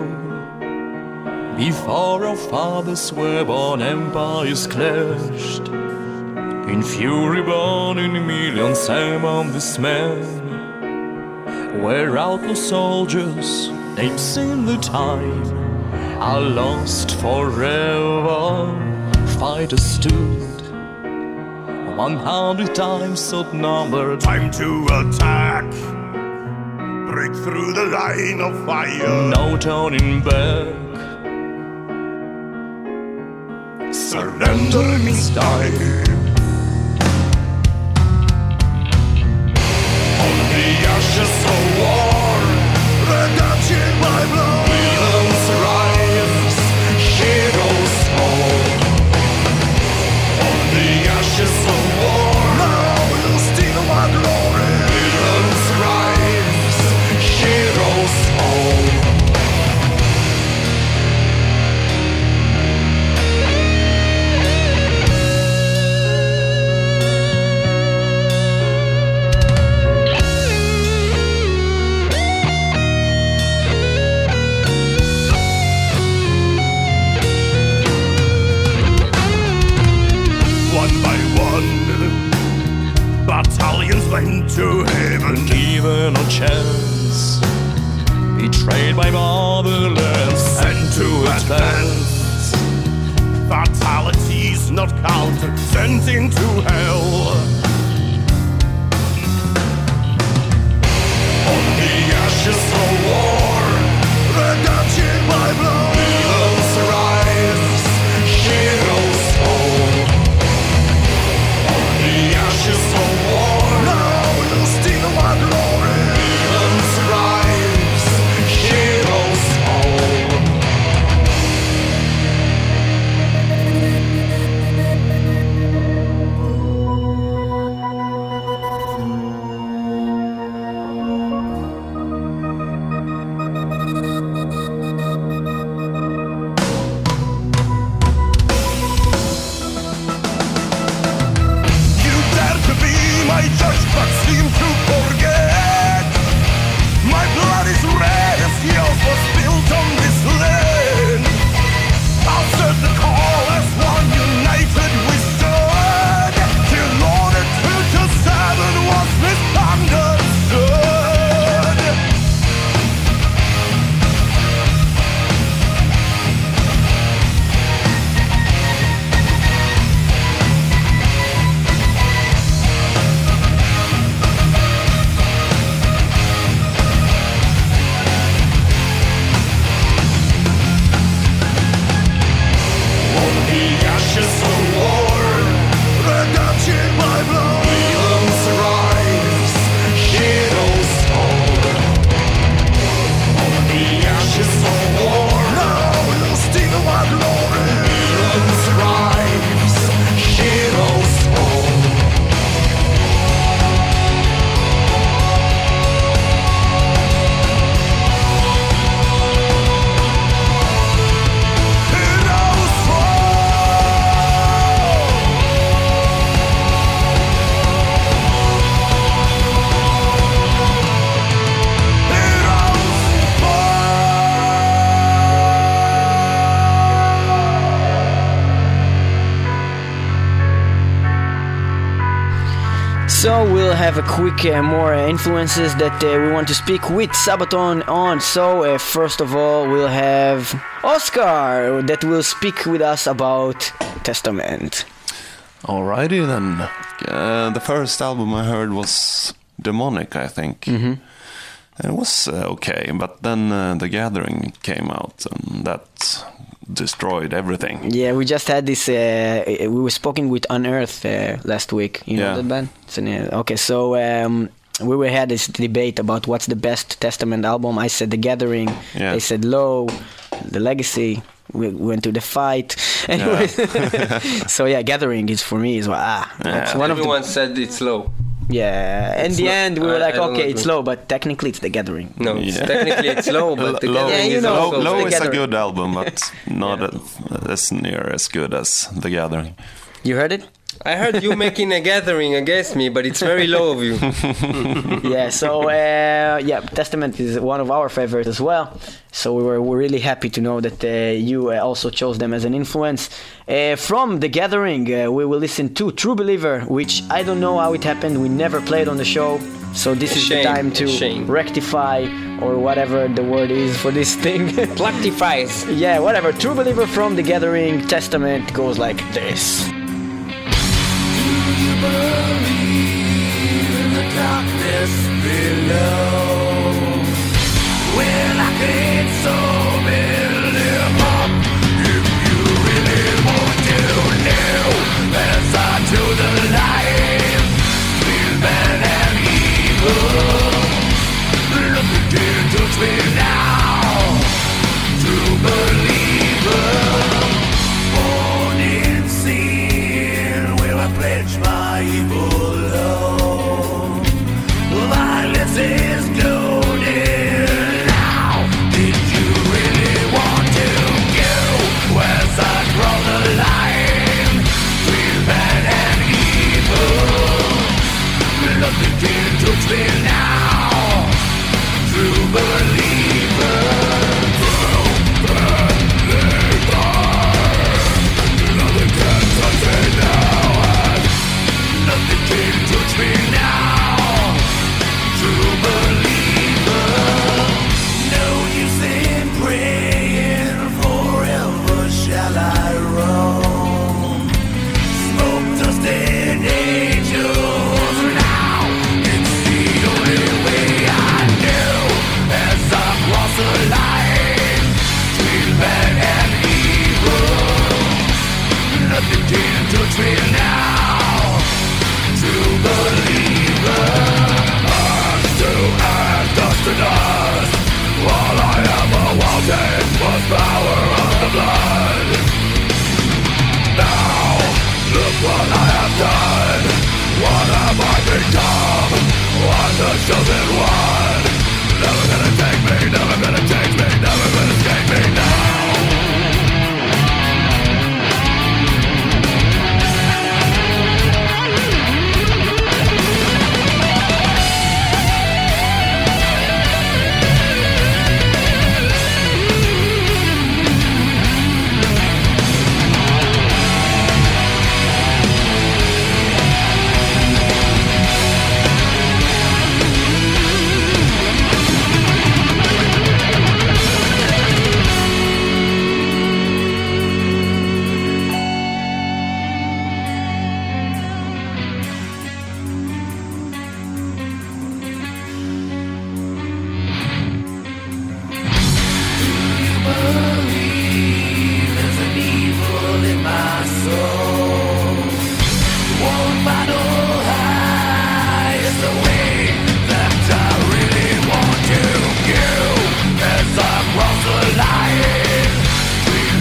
before our fathers were born, empires clashed. In fury born in millions among this man, where outlaw soldiers, names in the time, are lost forever. Fighters stood 100 times outnumbered. Time to attack. Break through the line of fire. No turning back. Surrender means die. On the ashes of war, redemption by blood. Villains rise, heroes fall. On the ashes of war, now we'll steal my glory. Villains rise, heroes fall. Battalions went to heaven, given a chance, betrayed by motherland, sent to advance. Fatalities not counted, sent into hell. ashes of war, redemption by blood. Heroes rise, heroes fall. On the ashes of war, now you steal my glory. Heroes rise, heroes fall. My judge but seem to forget. My blood is red as yours was spilled on this land. Answered the call as one united we stood, till order 227 was misunderstood. So we'll have a quick more influences that we want to speak with Sabaton on. So first of all, we'll have Oscar that will speak with us about Testament. Alrighty then. The first album I heard was Demonic, I think. Mm-hmm. It was okay, but then The Gathering came out, and that destroyed everything. Yeah, we just had this. We were speaking with Unearth last week. You know that band? Okay, so we had this debate about what's the best Testament album. I said The Gathering. Yeah. They said Low, The Legacy. We went to the fight. Anyway, so yeah, Gathering is for me is everyone said it's Low. Yeah, in the end we were like, okay, it's Low, but technically it's The Gathering. No, technically it's Low, but The Gathering is also Low is a good album, but not as near as good as The Gathering. You heard it? I heard you making a gathering against me, but it's very low of you. Yeah, so Testament is one of our favorites as well. So we're really happy to know that you also chose them as an influence. From The Gathering, we will listen to True Believer, which I don't know how it happened. We never played on the show. So this is the time to rectify, or whatever the word is for this thing. Plactifies. Yeah, whatever. True Believer from The Gathering. Testament goes like this. Believe in the darkness below. Well, I can't so live up. If you really want to know, as I do the light, between man and evil. Look into me now, true believer. Born in sin, will I pledge my evil love? Violence is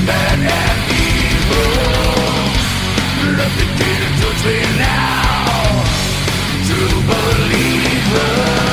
bad and evil. Let the kid touch me now. True believer.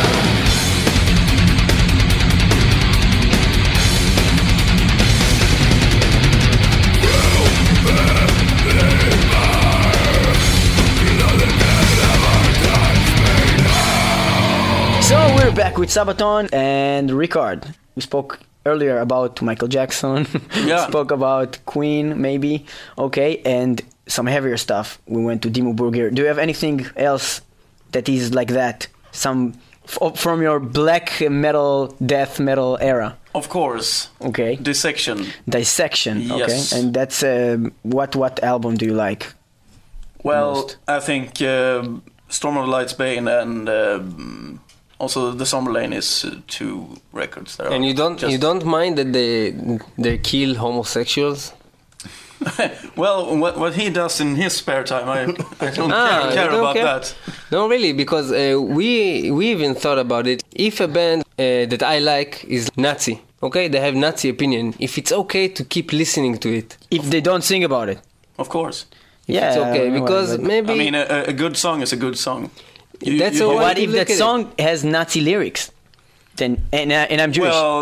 So we're back with Sabaton and Ricard. We spoke earlier about Michael Jackson. Yeah. Spoke about Queen, maybe. Okay, and some heavier stuff. We went to Dimmu Borgir. Do you have anything else that is like that? Some from your black metal, death metal era? Of course. Okay. Dissection. Dissection. Yes. Okay. And that's what album do you like? Well, most? I think Storm of the Lights Bane and also The Summer Lane is two records that and you don't mind that they kill homosexuals? Well, what he does in his spare time, I don't care about that. No, really, because we even thought about it. If a band that I like is Nazi, okay, they have Nazi opinion, if it's okay to keep listening to it. If they don't sing about it. Of course. Yeah, it's okay, because maybe... I mean, a good song is a good song. What if that song has Nazi lyrics? Then and I'm Jewish. Well,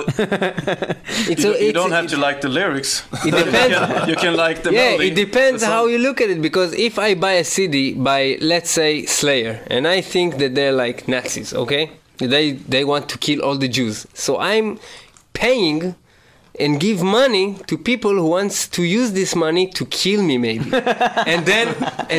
you don't have to like the lyrics. It depends. You can like the melody. Yeah, it depends how you look at it. Because if I buy a CD by, let's say, Slayer, and I think that they're like Nazis, okay? They want to kill all the Jews. So I'm paying and give money to people who wants to use this money to kill me, maybe. and then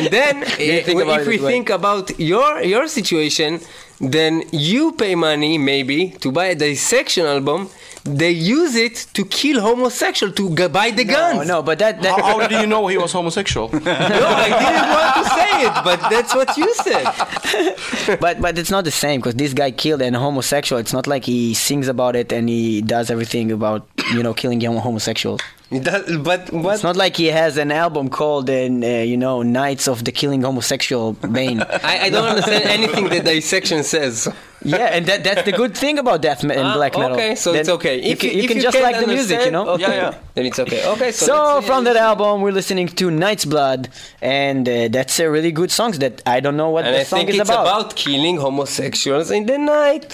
if we think about your situation, then you pay money maybe to buy a Dissection album. They use it to kill homosexual, to buy the guns. No, but that how do you know he was homosexual? No, I didn't want to say it, but that's what you said. but it's not the same, because this guy killed an homosexual. It's not like he sings about it and he does everything about killing young homosexuals. But what? It's not like he has an album called Nights of the Killing Homosexual Bane. I don't understand anything that Dissection says. Yeah, and that's the good thing about death and black metal. Okay, so then it's okay. You can just like the music, Okay. Yeah. Then it's okay. Okay, so from that album, we're listening to Night's Blood, and that's a really good song that I don't know what the song is about. And I think it's about killing homosexuals in the night.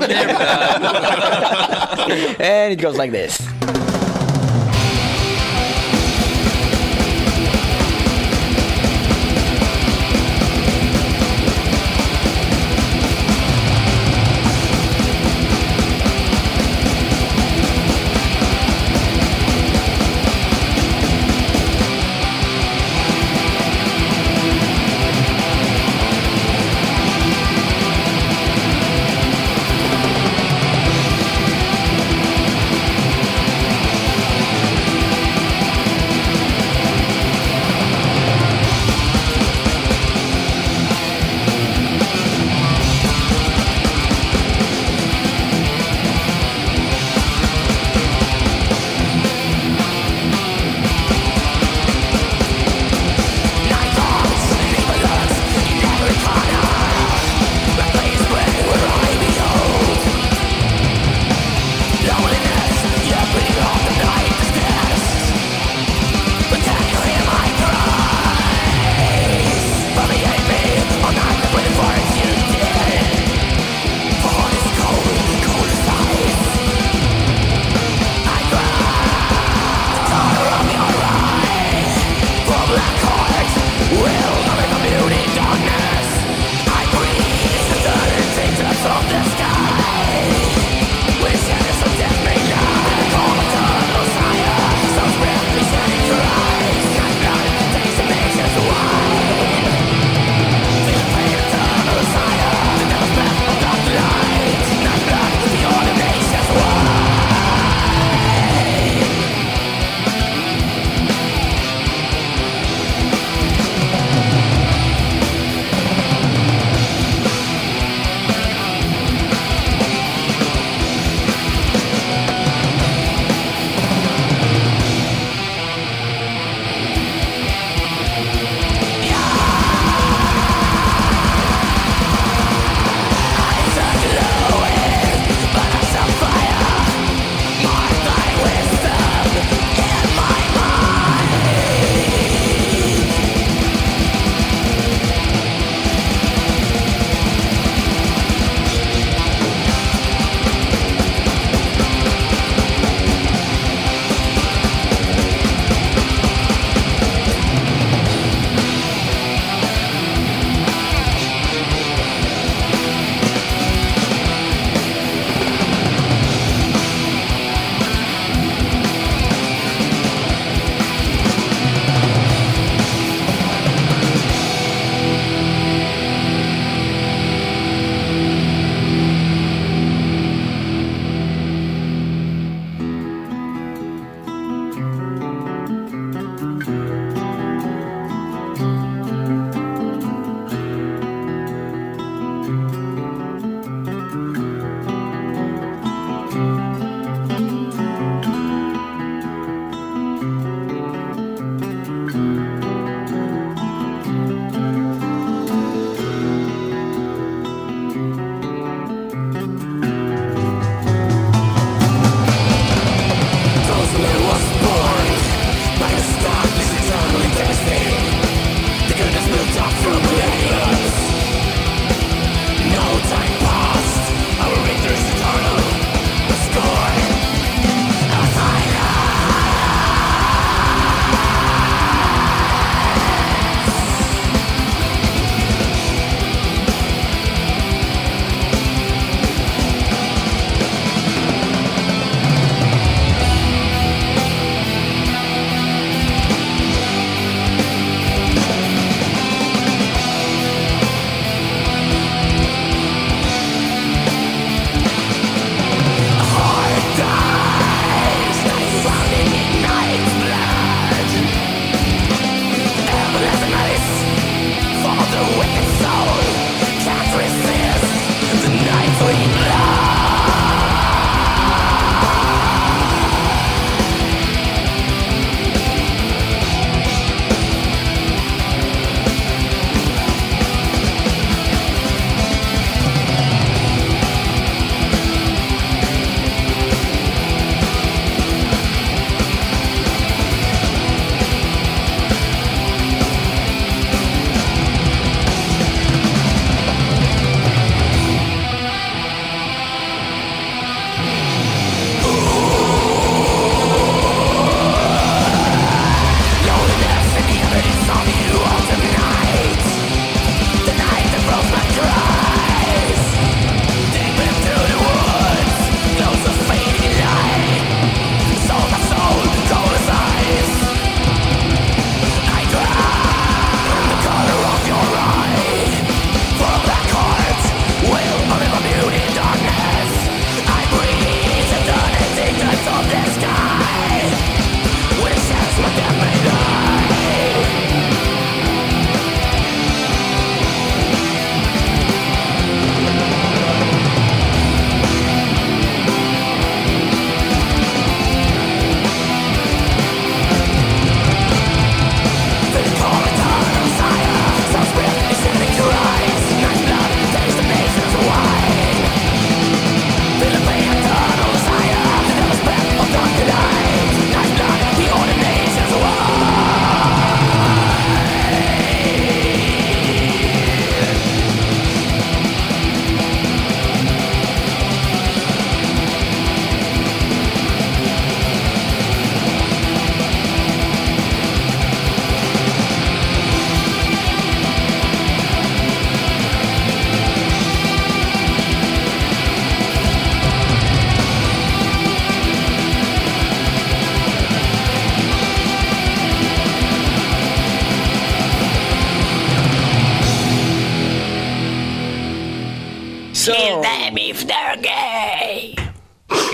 And it goes like this.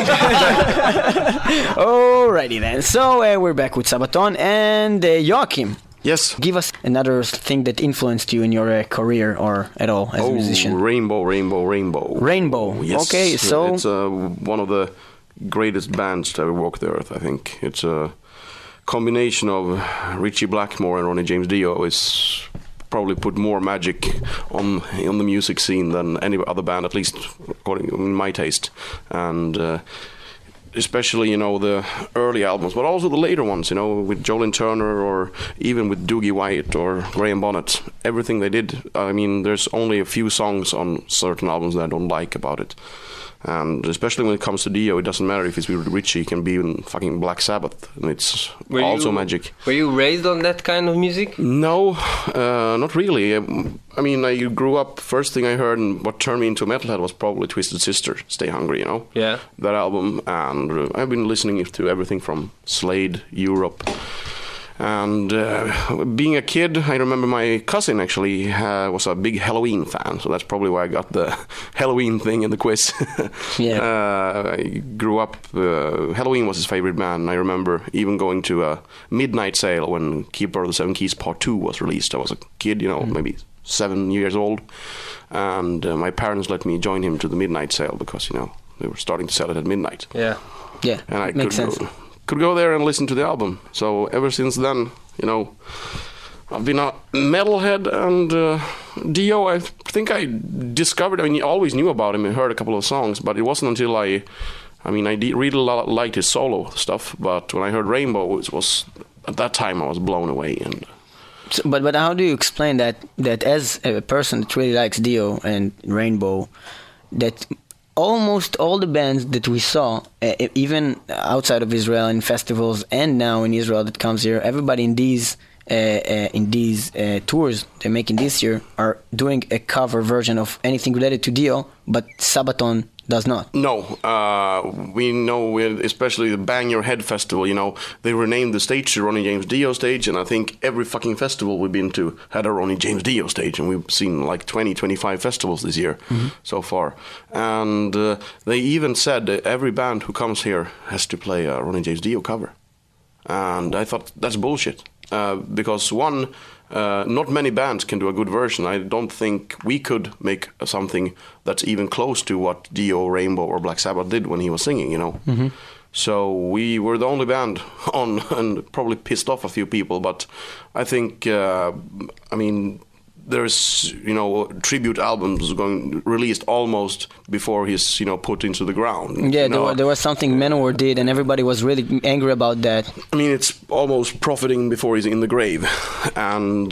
Alrighty then. So we're back with Sabaton and Joachim. Yes. Give us another thing that influenced you in your career or at all as a musician. Rainbow. Rainbow. Yes. Okay, so it's one of the greatest bands to ever walk the earth, I think. It's a combination of Ritchie Blackmore and Ronnie James Dio is probably put more magic on the music scene than any other band, at least according to my taste. And especially, the early albums, but also the later ones, with Jolene Turner or even with Doogie White or Graham Bonnet. Everything they did, I mean, there's only a few songs on certain albums that I don't like about it. And especially when it comes to Dio, it doesn't matter if it's with Ritchie, it can be in fucking Black Sabbath, and it's also magic. Were you raised on that kind of music? No, not really. I mean, I grew up, first thing I heard and what turned me into a metalhead was probably Twisted Sister, Stay Hungry, Yeah. That album, and I've been listening to everything from Slade, Europe. And being a kid, I remember my cousin actually was a big Halloween fan, so that's probably why I got the Halloween thing in the quiz. I grew up, Halloween was his favorite band, and I remember even going to a midnight sale when Keeper of the Seven Keys Part 2 was released. I was a kid, maybe 7 years old, and my parents let me join him to the midnight sale because, they were starting to sell it at midnight. Yeah, and I makes sense. Could go there and listen to the album. So ever since then, I've been a metalhead, and Dio, I think I discovered, I always knew about him and heard a couple of songs, but it wasn't until I really liked his solo stuff, but when I heard Rainbow, it was, at that time I was blown away. And so, but how do you explain that as a person that really likes Dio and Rainbow, that almost all the bands that we saw, even outside of Israel in festivals and now in Israel that comes here, everybody in these tours they're making this year are doing a cover version of anything related to Dio, but Sabaton does not. No, we know, especially the Bang Your Head festival, they renamed the stage to Ronnie James Dio stage, and I think every fucking festival we've been to had a Ronnie James Dio stage, and we've seen like 20-25 festivals this year so far. And they even said that every band who comes here has to play a Ronnie James Dio cover. And I thought that's bullshit. Because one, not many bands can do a good version. I don't think we could make something that's even close to what Dio, Rainbow, or Black Sabbath did when he was singing, So we were the only band on, and probably pissed off a few people. But I think, there's, tribute albums released almost before he's, put into the ground. Yeah, there was something Manowar did, and everybody was really angry about that. I mean, it's almost profiting before he's in the grave. And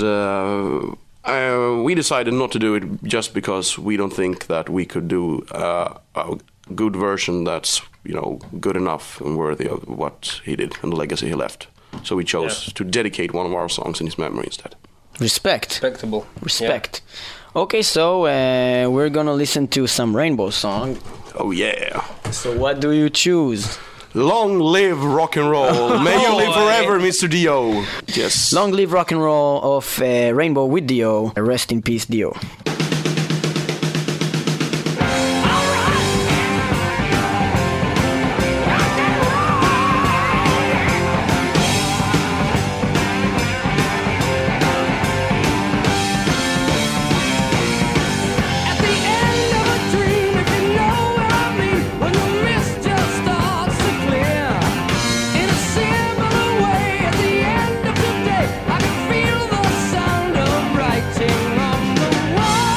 we decided not to do it just because we don't think that we could do a good version that's, good enough and worthy of what he did and the legacy he left. So we chose to dedicate one of our songs in his memory instead. Respectable. Respect. Yeah. Okay, so we're gonna listen to some Rainbow song. Oh yeah. So what do you choose? Long live rock and roll. May you live forever, Mr. Dio. Yes. Long live rock and roll of Rainbow with Dio. Rest in peace, Dio. Writing on the wall.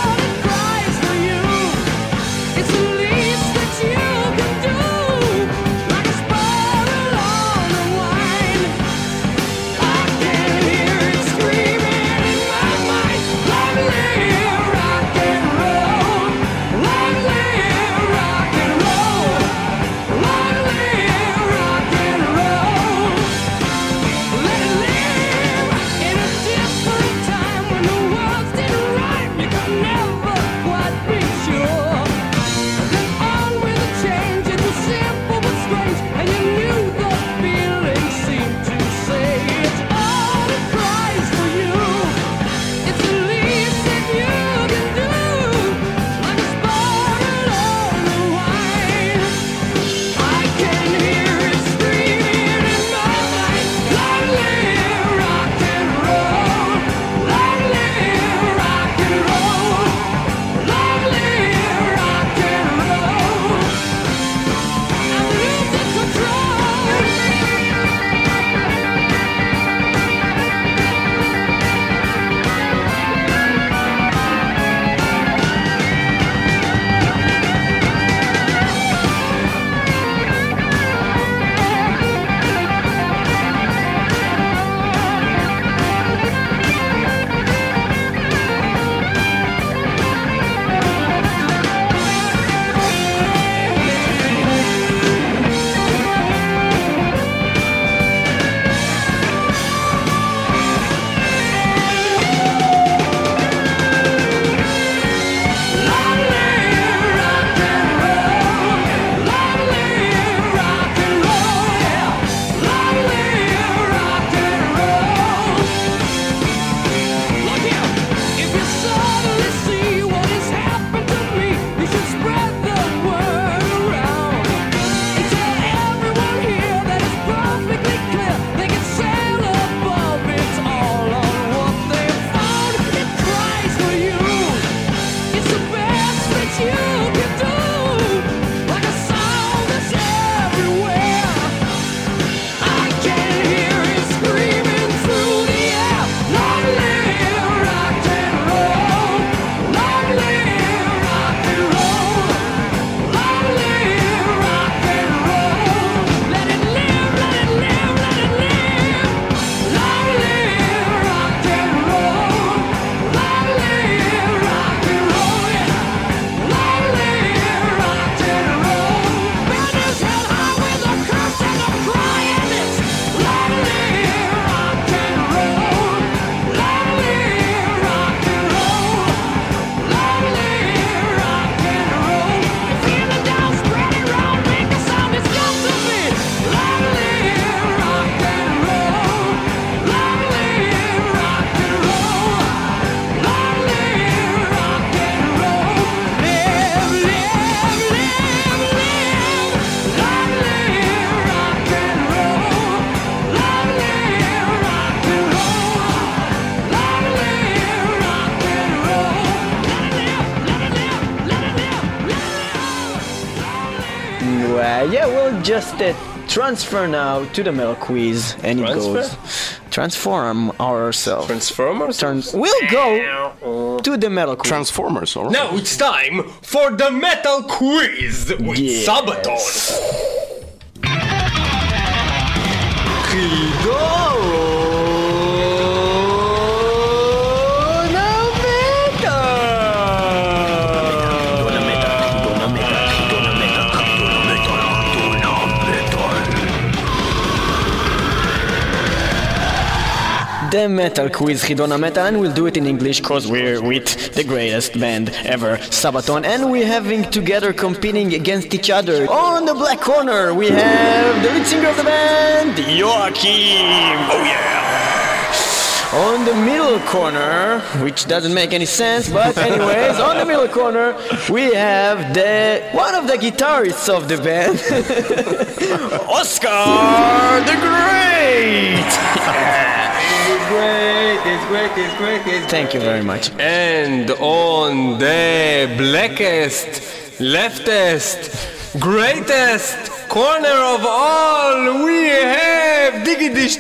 We'll just transfer now to the metal quiz, and it goes transform ourselves. Transformers? We'll go to the metal quiz. Transformers, alright. Now it's time for the metal quiz with Sabaton. The metal quiz Hidona Metal, and we'll do it in English cause we're with the greatest band ever, Sabaton, and we're having together competing against each other. On the black corner we have the lead singer of the band, Joachim. Oh yeah! On the middle corner, which doesn't make any sense, but anyways, on the middle corner we have one of the guitarists of the band, Oscar the Great. It's great. Thank you very much. And on the blackest, leftest, greatest corner of all, we have Diggidish,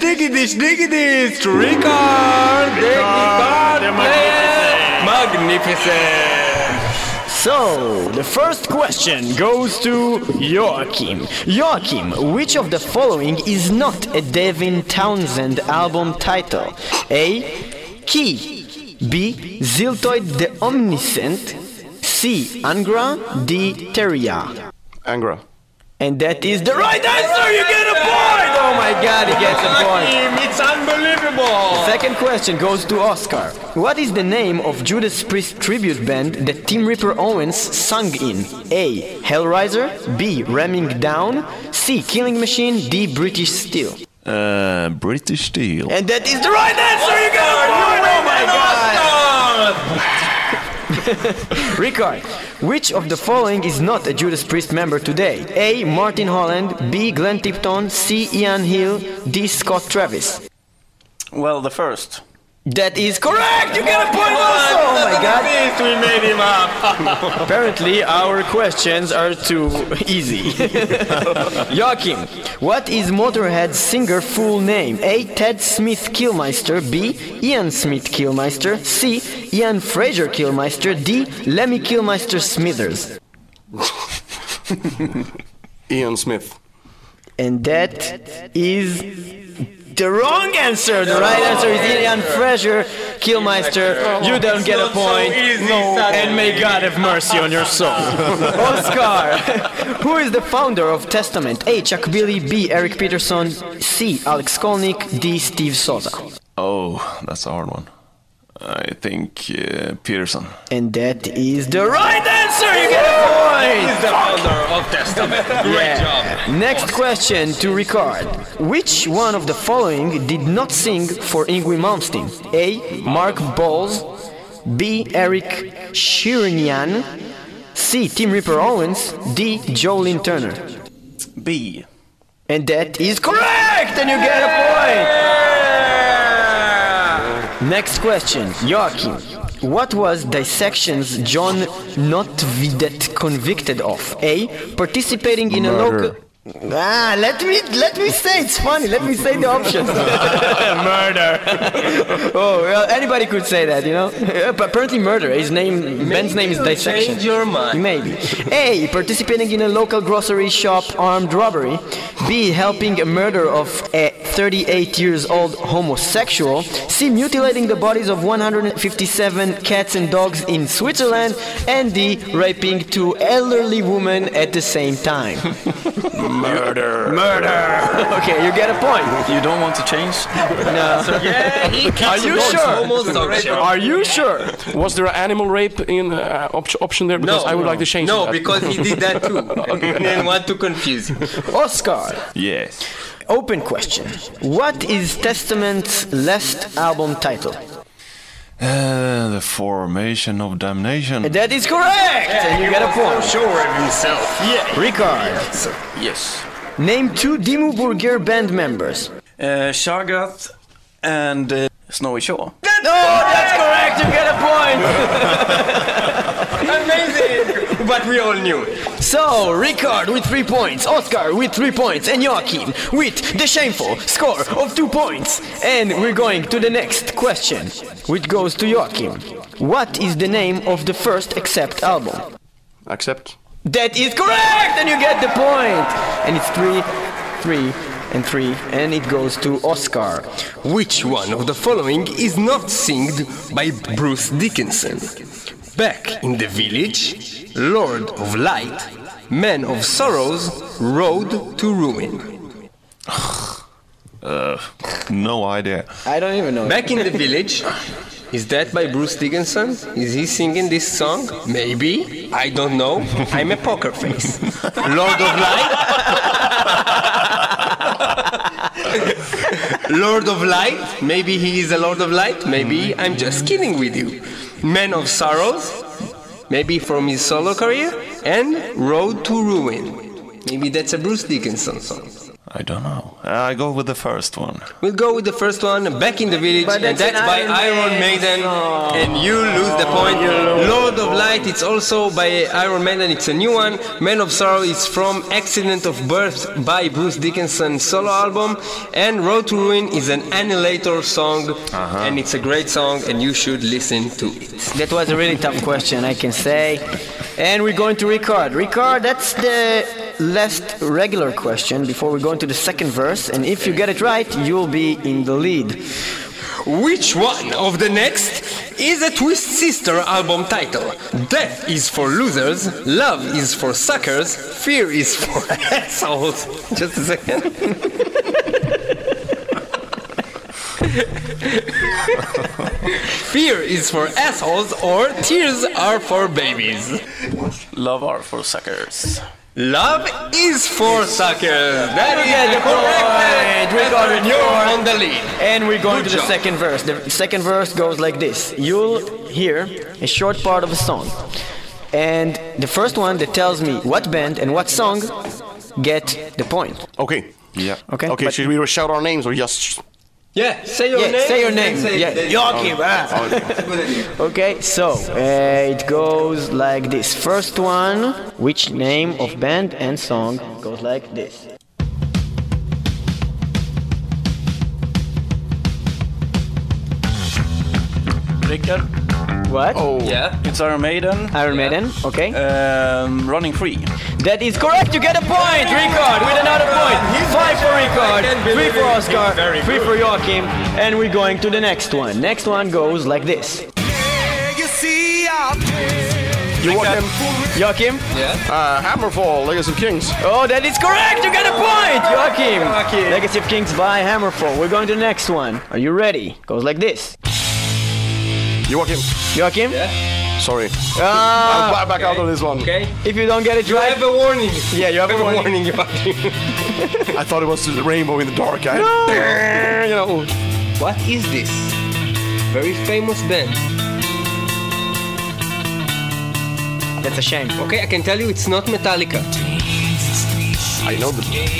Ricard, the guitar player, magnificent. So, the first question goes to Joachim. Joachim, which of the following is not a Devin Townsend album title? A. Key. B. Ziltoid the Omniscient. C. Angra. D. Teria. Angra. And that is the right answer! You get a point! Oh my god, he gets a point! It's unbelievable! Second question goes to Oscar. What is the name of Judas Priest tribute band that Tim Ripper Owens sung in? A. Hellraiser. B. Ramming Down. C. Killing Machine. D. British Steel. British Steel. And that is the right answer! You get a point! Oh my god! Ricard, which of the following is not a Judas Priest member today? A. Martin Holland. B. Glenn Tipton. C. Ian Hill. D. Scott Travis. Well, the first. That is correct! You get a point also! Oh my god! We made him up! Apparently our questions are too easy. Joachim, what is Motorhead's singer full name? A. Ted Smith Killmeister. B. Ian Smith Killmeister. C. Ian Fraser Killmeister. D. Lemmy Killmeister Smithers. Ian Smith. And that is the wrong answer. The right answer is Ian Fraser Killmeister. You don't get a point. And may God have mercy on your soul. Oscar, who is the founder of Testament? A. Chuck Billy. B. Eric Peterson. C. Alex Skolnick. D. Steve Souza. Oh, that's a hard one. I think Peterson. And that is the right answer! You get a point! He's the founder of Testament. Great job. Next question to Ricard. Which one of the following did not sing for Yngwie Malmsteen? A. Mark Bowles. B. Eric Shirinian. C. Tim Ripper Owens. D. Jolene Turner. B. And that is correct! And you get a point! Next question, Joachim. What was Dissection's John Notvidet convicted of? A. Participating in a local... let me say, it's funny, let me say the options. Murder. Oh, well, anybody could say that, you know. Apparently murder. Ben's name is Dissection. Change your mind. Maybe. A. Participating in a local grocery shop armed robbery. B. Helping a murder of a 38-year-old homosexual. C. Mutilating the bodies of 157 cats and dogs in Switzerland. And D. Raping 2 elderly women at the same time. Murder. Okay, you get a point. You don't want to change? No. Are you sure? Are you sure? Was there an animal rape in option there? Because I would like to change that. No, because he did that too. I didn't want to confuse you. Oscar. Yes. Open question. What is Testament's last album title? The Formation of Damnation. That is correct! And you get a point. Sure of himself. Yeah. Ricard. Yes. Name 2 Dimmu Borgir band members. Shagath and Snowy Shaw. That's correct! You get a point! Amazing! but we all knew. So, Ricard with 3 points, Oscar with 3 points, and Joachim with the shameful score of 2 points. And we're going to the next question, which goes to Joachim. What is the name of the first Accept album? Accept. That is correct, and you get the point. And it's 3, 3, and 3, and it goes to Oscar. Which one of the following is not sung by Bruce Dickinson? Back in the Village, Lord of Light, Man of Sorrows, Road to Ruin. No idea. I don't even know. Back in the Village. Is that by Bruce Dickinson? Is he singing this song? Maybe. I don't know. I'm a poker face. Lord of Light? Lord of Light? Maybe he is a Lord of Light. Maybe I'm just kidding with you. Man of Sorrows? Maybe from his solo career. And Road to Ruin. Maybe that's a Bruce Dickinson song. I don't know. I go with the first one. We'll go with the first one, Back in the Village, and that's by Iron Maiden, and you lose the point. Lord of Light, it's also by Iron Maiden, it's a new one. Man of Sorrow is from Accident of Birth by Bruce Dickinson solo album, and Road to Ruin is an Annihilator song, and it's a great song, and you should listen to it. That was a really tough question, I can say. And we're going to Ricard. Ricard, that's the last regular question before we go into the second verse, and if you get it right, you'll be in the lead. Which one of the next is a Twist Sister album title? Death is for losers, love is for suckers, fear is for assholes. Just a second. Fear is for assholes, or tears are for babies. Love are for suckers. Love is for suckers. That is the correct. You're on the lead. And we're going to the second verse. The second verse goes like this. You'll hear a short part of a song. And the first one that tells me what band and what song get the point. Okay. Yeah. Okay. Okay, should we shout our names or just... Yeah, say your name. Say your name. Joachim. Okay, so it goes like this. First one, which name of band and song goes like this. Ricard. What? Oh, yeah. It's Iron Maiden. Iron Maiden, okay. Running Free. That is correct, you get a point, Ricard, with another point. 5 for Ricard, 3 for Oscar, 3 for Joachim, and we're going to the next one. Next one goes like this. Joachim? Yeah. Hammerfall, Legacy of Kings. Oh, that is correct, you get a point, Joachim. Legacy of Kings by Hammerfall. We're going to the next one. Are you ready? Goes like this. Joachim. Yeah. Sorry. I'll back out on this one. Okay. If you don't get it You right... have a warning. Yeah, you have a warning. Joachim. I thought it was the rainbow in the dark. You know. What is this? Very famous band. That's a shame. Okay, I can tell you it's not Metallica. I know the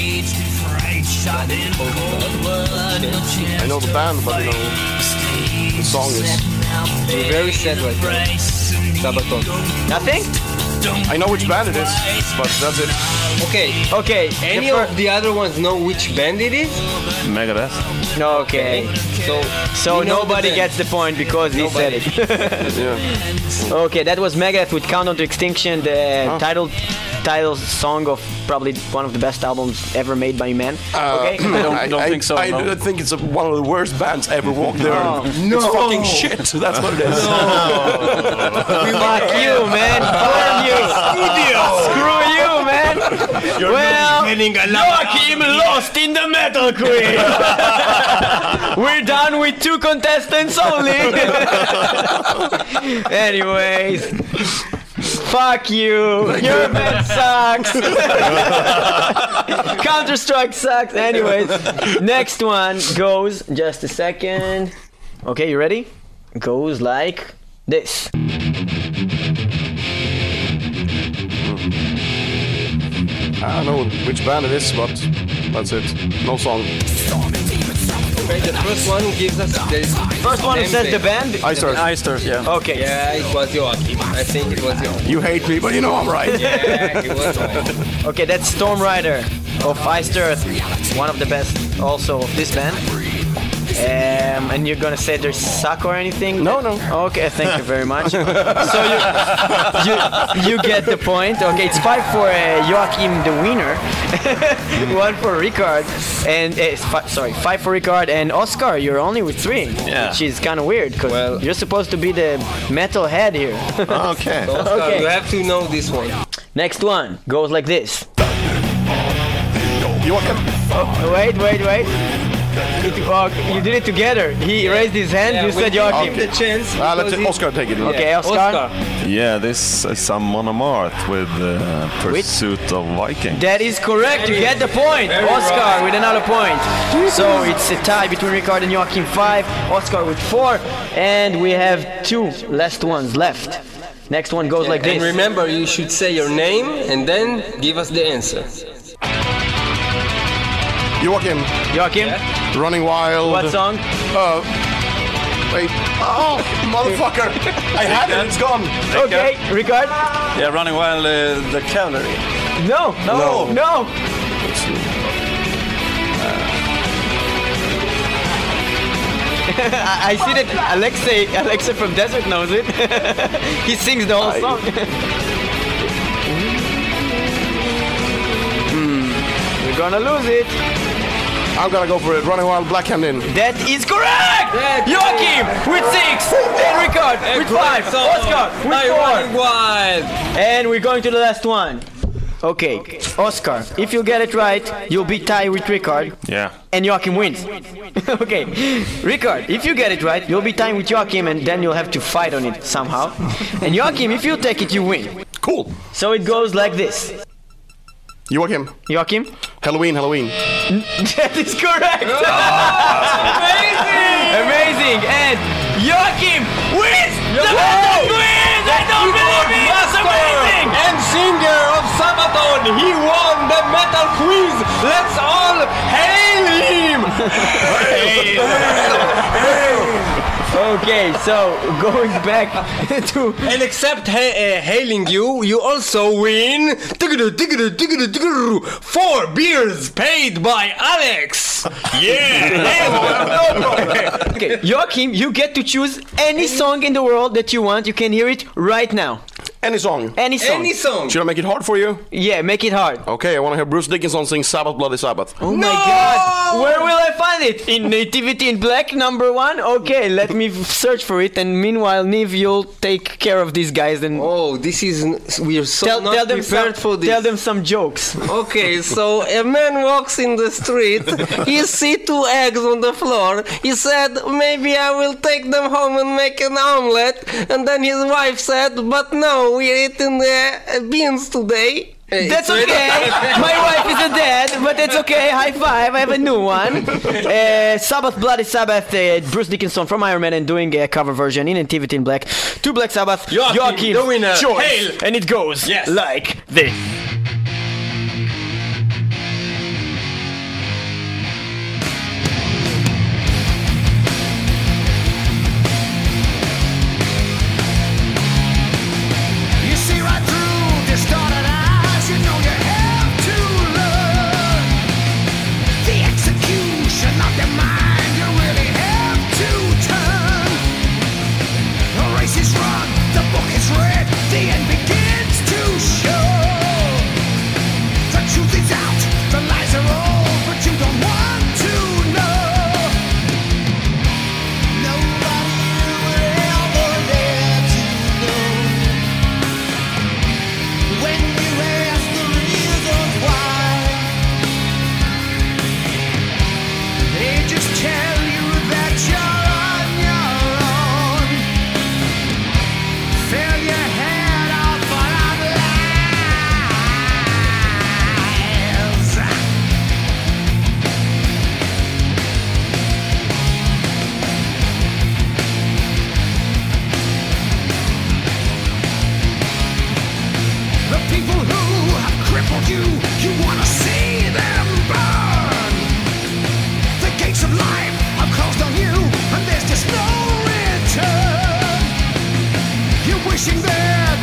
band, but you know the song is... You're very sad right now. Sabaton. Nothing? I know which band it is, but that's it. Okay. Any of the other ones know which band it is? Megadeth. No, okay. So nobody gets the point because he said it. Yeah. Okay, that was Megadeth with Countdown to Extinction, the title song of probably one of the best albums ever made by man. Okay? I don't think so. I think it's one of the worst bands ever walked there. No. It's fucking shit. That's what it is. Fuck you, man. Burn you. Screw you, man. Joachim lost in the metal quiz. We're done with 2 contestants only. Anyways. Fuck you. Your band sucks. Counter-Strike sucks. Anyways. Next one goes, just a second. Okay, you ready? Goes like this. I don't know which band it is, but that's it. No song. Okay, the first one gives us the First one who says the band? Icers. Icers, yeah. Okay. Yeah, it was Joachim. I think it was Joachim. You hate me, but you know I'm right. Yeah, he was right. Okay, that's Storm Rider of Iced Earth, one of the best also of this band. And you're gonna say they suck or anything? No. Okay, thank you very much. So you get the point. Okay, it's 5 for Joachim the winner, 1 for Ricard, and 5 for Ricard and Oscar. You're only with 3, which is kind of weird because you're supposed to be the metal head here. Okay. So Oscar, you have to know this one. Next one goes like this. Joachim. Wait. You did it together. He raised his hand, you said Joachim. The chance. Let Oscar take it. Okay, Oscar. Yeah, this is some Monomart with Pursuit of Viking. That is correct. You get the point. Oscar with another point. So it's a tie between Ricard and Joachim, 5. Oscar with 4. And we have 2 last ones left. Next one goes like this. And remember, you should say your name and then give us the answer. Joachim. Yeah. Running Wild. What song? Wait. Oh, motherfucker. I had it. It's gone. Okay, Ricard. Yeah, Running Wild, the Cavalry. No. I see that Alexei from Desert knows it. He sings the whole song. We're gonna lose it. I'm gonna go for it. Running Wild, Black Hand In. That is correct! Joachim with 6, and Ricard with 5, Oscar with 4. Running Wild. And we're going to the last one. Okay, Oscar, if you get it right, you'll be tied with Ricard. Yeah. And Joachim wins. Okay, Ricard, if you get it right, you'll be tied with Joachim, and then you'll have to fight on it somehow. And Joachim, if you take it, you win. Cool. So it goes like this. Joachim. Halloween. That is correct. Amazing. And Joachim wins. The metal wins. I don't believe it. It's amazing. And singer of Sabaton, he won the metal quiz. Let's all hail him. Okay, so going back to... And except hailing you, you also win 4 beers paid by Alex. Yeah. Okay, Joachim, you get to choose any song in the world that you want. You can hear it right now. Any song. Should I make it hard for you? Yeah, make it hard. Okay, I want to hear Bruce Dickinson sing Sabbath Bloody Sabbath. Oh my God! Where will I find it? In Nativity in Black, number 1? Okay, let me search for it. And meanwhile, Niv, you'll take care of these guys. And we are so not prepared for this. Tell them some jokes. Okay, so a man walks in the street. He sees 2 eggs on the floor. He said, maybe I will take them home and make an omelette. And then his wife said, but no, we're eating beans today. That's okay. My wife is dead, but that's okay. High five. I have a new one. Sabbath, Bloody Sabbath. Bruce Dickinson from Iron Maiden doing a cover version in Nativity in Black. To Black Sabbath. Joachim, the winner. Choice. Hail. And it goes like this. Wishing there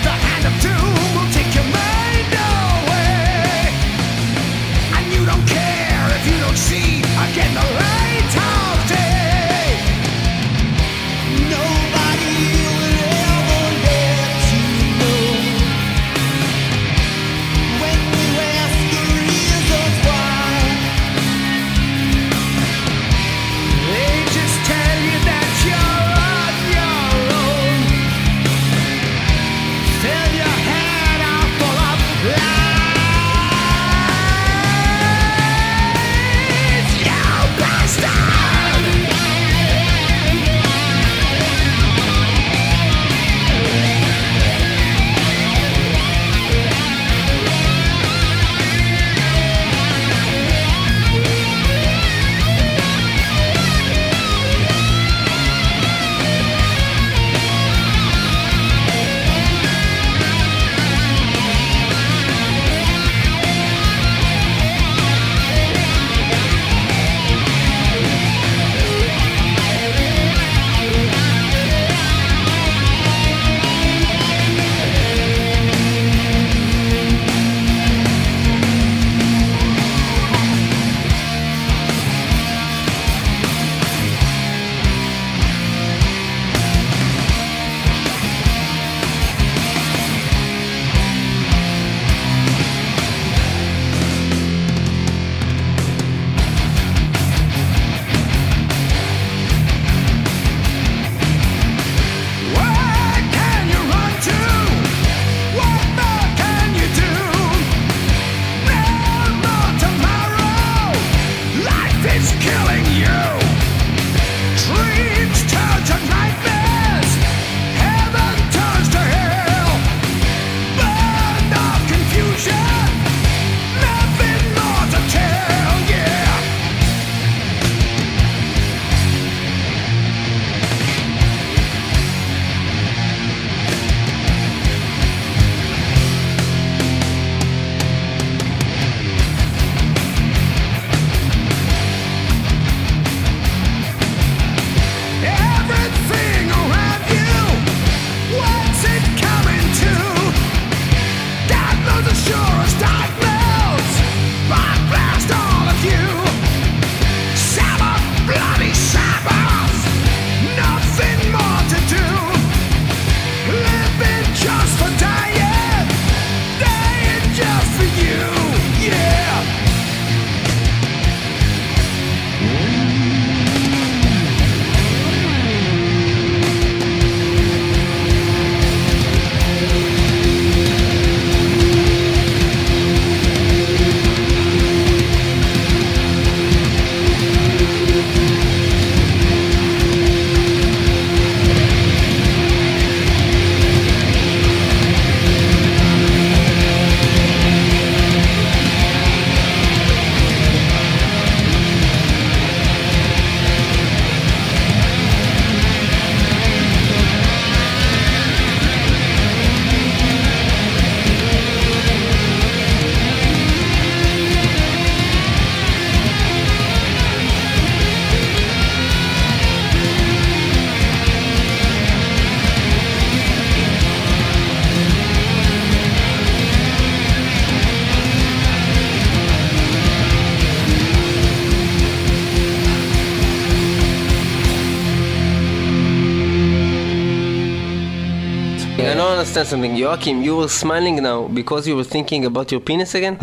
understand something. Joachim, you were smiling now because you were thinking about your penis again?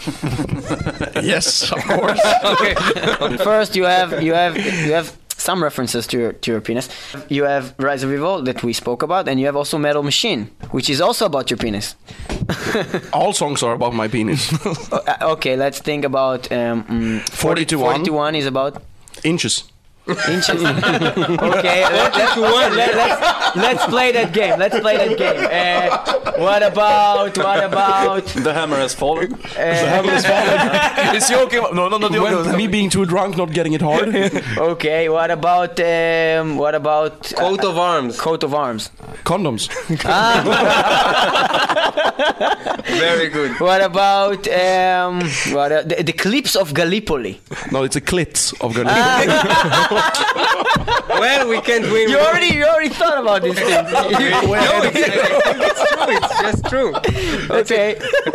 Yes, of course. Okay. First, you have some references to your penis. You have Rise of Evil that we spoke about, and you have also Metal Machine, which is also about your penis. All songs are about my penis. Okay, let's think about 41 is about inches. Inches. Okay, let's play that game. What about The Hammer Has Fallen? The Hammer Has Fallen. It's Joachim. No, not Joachim. Me being too drunk, not getting it hard. Okay, what about Coat of Arms. Coat of Arms. Condoms. Very good. What about the clips of Gallipoli? No, it's a clits of Gallipoli. Well, we can't win. You already thought about this thing. It's just true. Okay.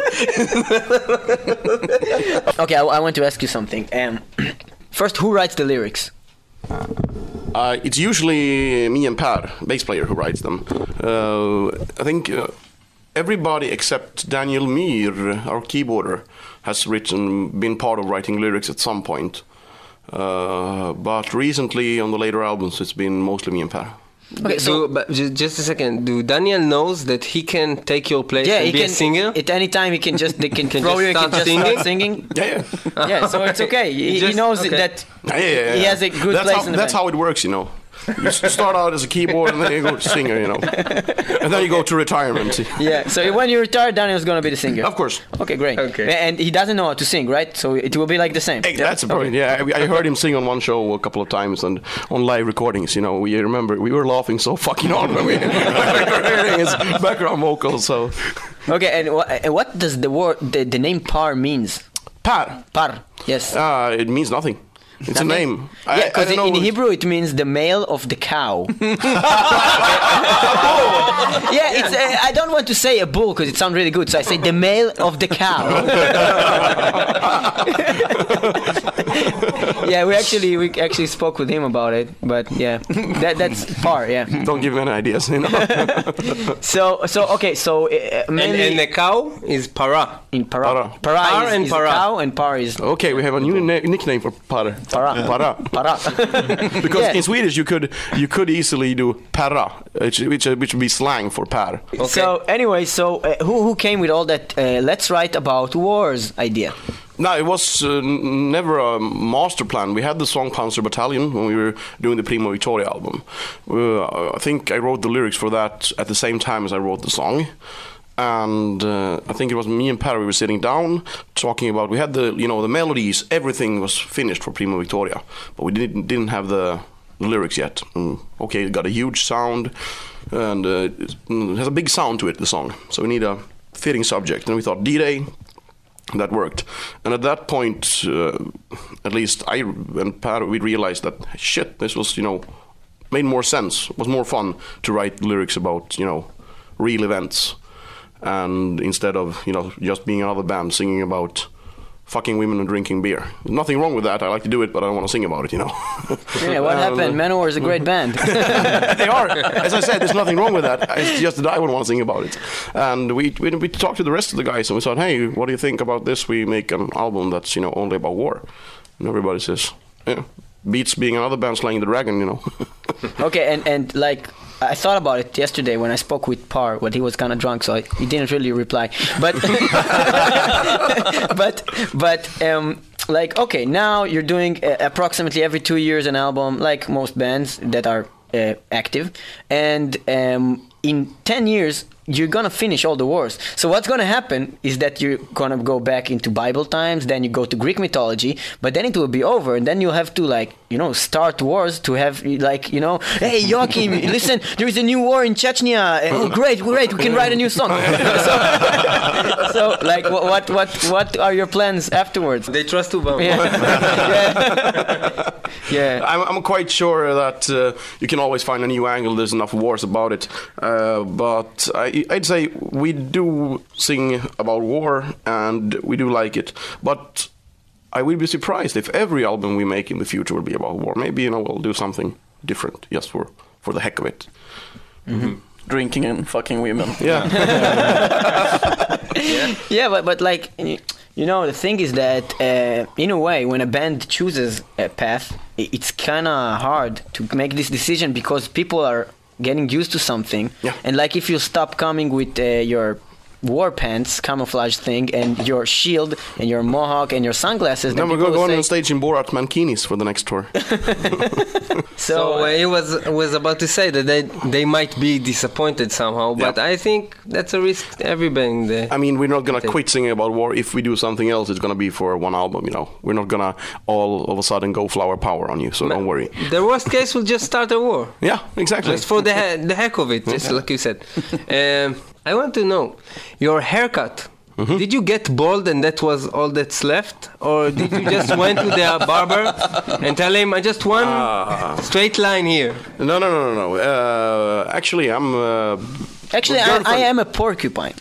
Okay, I want to ask you something. First, who writes the lyrics? It's usually me and Per, bass player, who writes them. I think everybody except Daniel Myhr, our keyboarder, has been part of writing lyrics at some point. But recently, on the later albums, it's been mostly me and Per. Okay, so but just a second. Do Daniel knows that he can take your place and be a singer? At any time, they can just start singing. Yeah. Yeah, so it's okay. He knows that he has a good place in the band. That's how it works, you know. You start out as a keyboard and then you go to singer, you know. And then you go to retirement. Yeah, so when you retire, Daniel's going to be the singer. Of course. Okay, great. Okay. And he doesn't know how to sing, right? So it will be like the same. Hey, that's the point. Yeah, I heard him sing on one show a couple of times and on live recordings, you know. We remember we were laughing so fucking hard when we were hearing his background vocals. So. Okay, and what does the name Par means? Par? Par, yes. It means nothing. It's a name. Yeah, because in Hebrew it means the male of the cow. Yeah, I don't want to say a bull because it sounds really good, so I say the male of the cow. Yeah, we actually spoke with him about it, but yeah, that's Par. Yeah. Don't give me any ideas, you know. Mainly and the cow is Para. In Para. Para is Para. cow, and Par is. Okay, we have a new nickname for Para. Para. Because in Swedish you could easily do para, which would be slang for par. Okay. So anyway, who came with all that let's write about wars idea? No, it was never a master plan. We had the song Panzer Battalion when we were doing the Prima Victoria album. I think I wrote the lyrics for that at the same time as I wrote the song. And I think it was me and Per, we were sitting down talking about, we had the melodies, everything was finished for Prima Victoria, but we didn't have the lyrics yet. Okay, it got a huge sound, and it has a big sound to it, the song, so we need a fitting subject, and we thought D-Day. That worked. And at that point, at least I and Per, we realized that, shit, this was, made more sense. It was more fun to write lyrics about, real events. And instead of, just being another band singing about fucking women and drinking beer. There's nothing wrong with that. I like to do it, but I don't want to sing about it, Yeah, what happened? Manowar is a great band. They are. As I said, there's nothing wrong with that. It's just that I would want to sing about it. And we talked to the rest of the guys and we thought, hey, what do you think about this? We make an album that's, only about war. And everybody says, yeah, beats being another band slaying the dragon, Okay, and like, I thought about it yesterday when I spoke with Par, but he was kind of drunk, so he didn't really reply. But, like, okay, now you're doing approximately every 2 years an album, like most bands that are active, and in 10 years you're gonna finish all the wars. So what's gonna happen is that you're gonna go back into Bible times, then you go to Greek mythology, but then it will be over, and then you'll have to start wars to have hey Joachim, listen, there is a new war in Chechnya. Oh great, we can write a new song. so like what are your plans afterwards? They trust Obama. Yeah. I'm quite sure that you can always find a new angle. There's enough wars about it, but I'd say we do sing about war and we do like it, but I will be surprised if every album we make in the future will be about war. Maybe we'll do something different just for the heck of it. Mm-hmm. drinking and fucking women. Yeah. Yeah, but like, you know, the thing is that in a way, when a band chooses a path, it's kind of hard to make this decision because people are getting used to something. Yeah. And like if you stop coming with your war pants camouflage thing and your shield and your mohawk and your sunglasses, then we're going on stage in Borat Mankinis for the next tour. So he was about to say that they might be disappointed somehow, but I think that's a risk every band. I mean, we're not gonna quit singing about war. If we do something else, it's gonna be for one album, you know. We're not gonna all of a sudden go flower power on you, so don't worry. The worst case will just start a war. Yeah, exactly. Just for the heck of it, just like you said. I want to know, your haircut, did you get bald and that was all that's left? Or did you just went to the barber and tell him, I just want straight line here? No. Actually, I'm... Actually, I am a porcupine.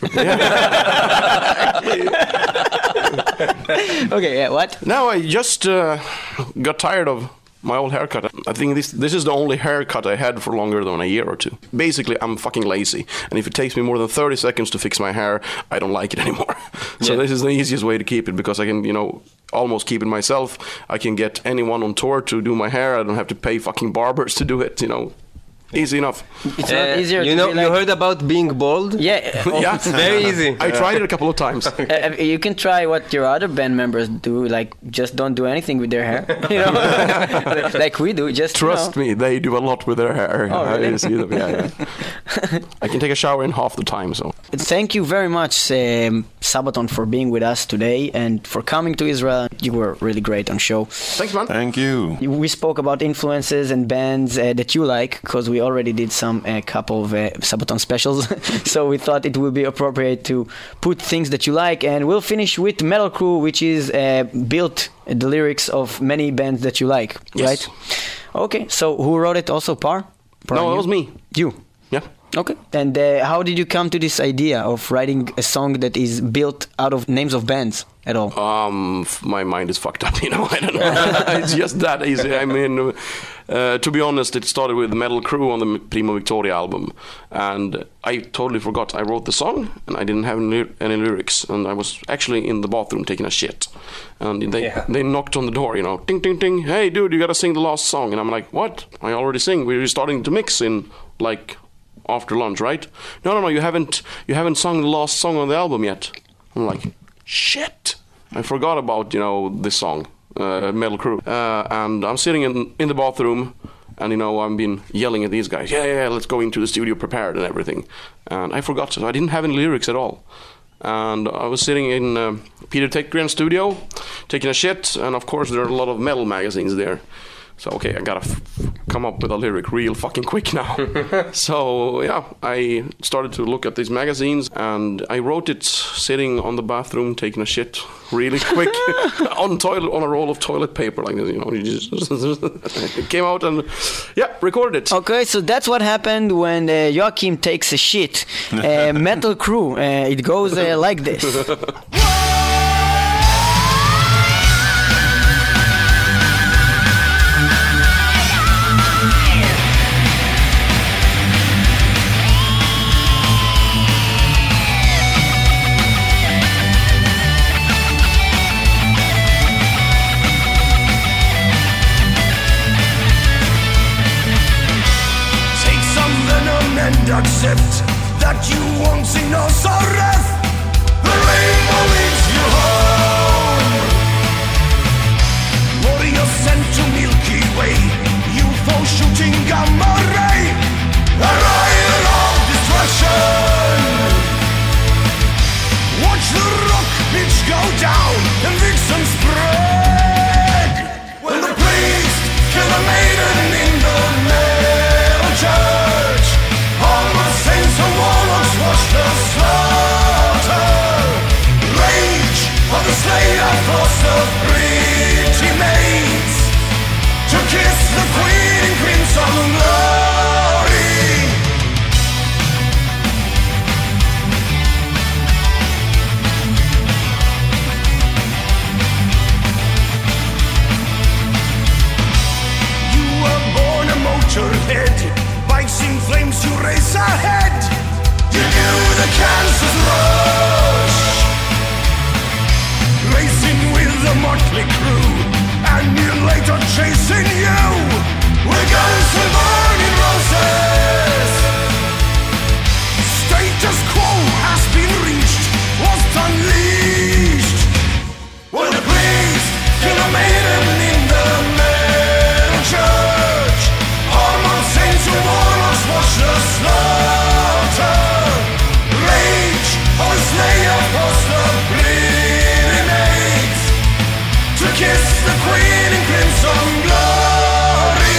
Okay, yeah, what? No, I just got tired of my old haircut. I think this is the only haircut I had for longer than a year or two. Basically, I'm fucking lazy. And if it takes me more than 30 seconds to fix my hair, I don't like it anymore. So this is the easiest way to keep it because I can, you know, almost keep it myself. I can get anyone on tour to do my hair. I don't have to pay fucking barbers to do it, you know. Easy enough. It's not easier you to know, be like... You heard about being bald? Yeah. Yeah. It's very easy. I tried it a couple of times. You can try what your other band members do, like just don't do anything with their hair. You know? Like we do. Just trust me, they do a lot with their hair. Oh, really? I see them. Yeah. I can take a shower in half the time. So thank you very much, Sabaton, for being with us today and for coming to Israel. You were really great on show. Thanks, man. Thank you. We spoke about influences and bands that you like because we already did a couple of Sabaton specials. So we thought it would be appropriate to put things that you like, and we'll finish with Metal Crew, which is built the lyrics of many bands that you like, right? Okay, so who wrote it also, Par? No, it was me. You? Yeah. Okay, and how did you come to this idea of writing a song that is built out of names of bands at all? My mind is fucked up, you know. I don't know. It's just that easy. I mean, to be honest, it started with Metal Crew on the Primo Victoria album, and I totally forgot I wrote the song, and I didn't have any lyrics, and I was actually in the bathroom taking a shit, and they knocked on the door, you know, ding, ding, ding, hey, dude, you gotta sing the last song, and I'm like, what? I already sing. We're starting to mix in, like, after lunch, right? No, you haven't sung the last song on the album yet. I'm like, shit, I forgot about, you know, this song, Metal Crew, and I'm sitting in the bathroom, and, you know, I've been yelling at these guys, yeah, let's go into the studio prepared and everything, and I forgot, so I didn't have any lyrics at all. And I was sitting in Peter Tekgren's studio taking a shit, and of course there are a lot of metal magazines there. So, okay, I gotta come up with a lyric real fucking quick now. So, yeah, I started to look at these magazines, and I wrote it sitting on the bathroom, taking a shit really quick on a roll of toilet paper, like this, you know. You just it came out and, recorded it. Okay, so that's what happened when Joachim takes a shit. Metal Crew, it goes like this. Accept that you won't see no sorrow. The rainbow leads you home. Warrior sent to Milky Way, UFO shooting gamma ray, a riot of destruction. Watch the rock pitch go down and vixen spread. When the priest kill a maiden in the metal church, all the saints and warlocks watch the slaughter. Rage for the slayer force of pretty maids to kiss the chasing you with guns and burning roses. Status quo has been reached, was unleashed. When the priest kill a maiden in the metal church, armored saints and warlocks watch the slaughter. Rage of the slayer across the bleeding maids to kiss the queen in crimson glory.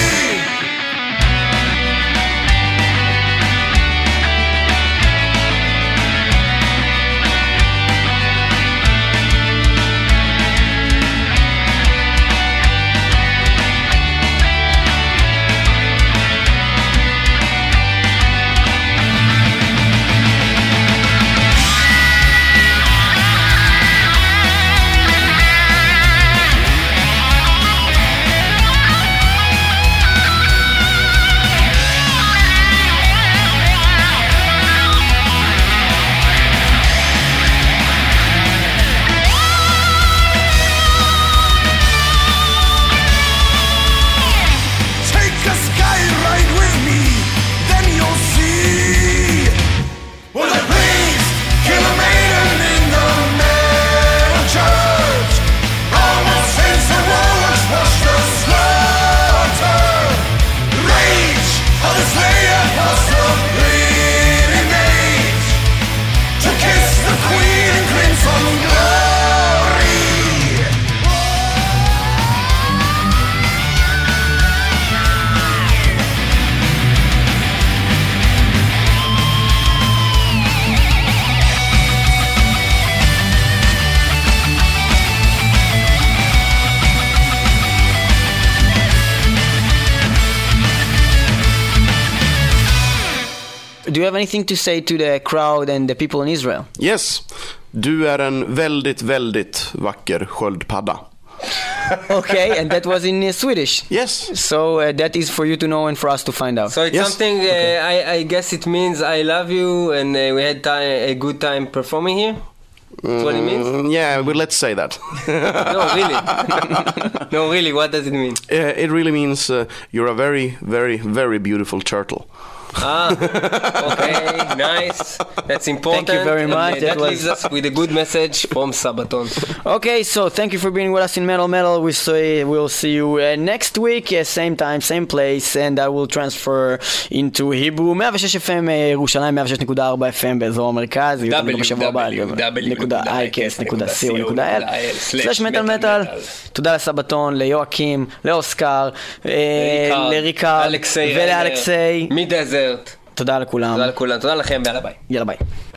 Do you have anything to say to the crowd and the people in Israel? Yes. Du är en väldigt, väldigt vacker sköldpadda. Okay, and that was in Swedish. Yes. So that is for you to know and for us to find out. So it's something, I guess it means I love you and we had a good time performing here? That's what it means? Yeah, well, let's say that. No, really. No, really, what does it mean? It really means you're a very, very, very beautiful turtle. Okay, nice. That's important. Thank you very much. That leaves us with a good message from Sabaton. Okay, so thank you for being with us in Metal. We'll see you next week, same time, same place, and I will transfer into Hebrew. 106 FM ירושלים, 106.4 FM באזור המרכז. www.icast.co.il/מטאל. תודה לסבתון, ליואקים, לאוסקר, לריקה ולאלכסי. מדזרט. תודה לכולם. תודה לכולם. תודה לכם, ויאללה ביי. יאללה ביי.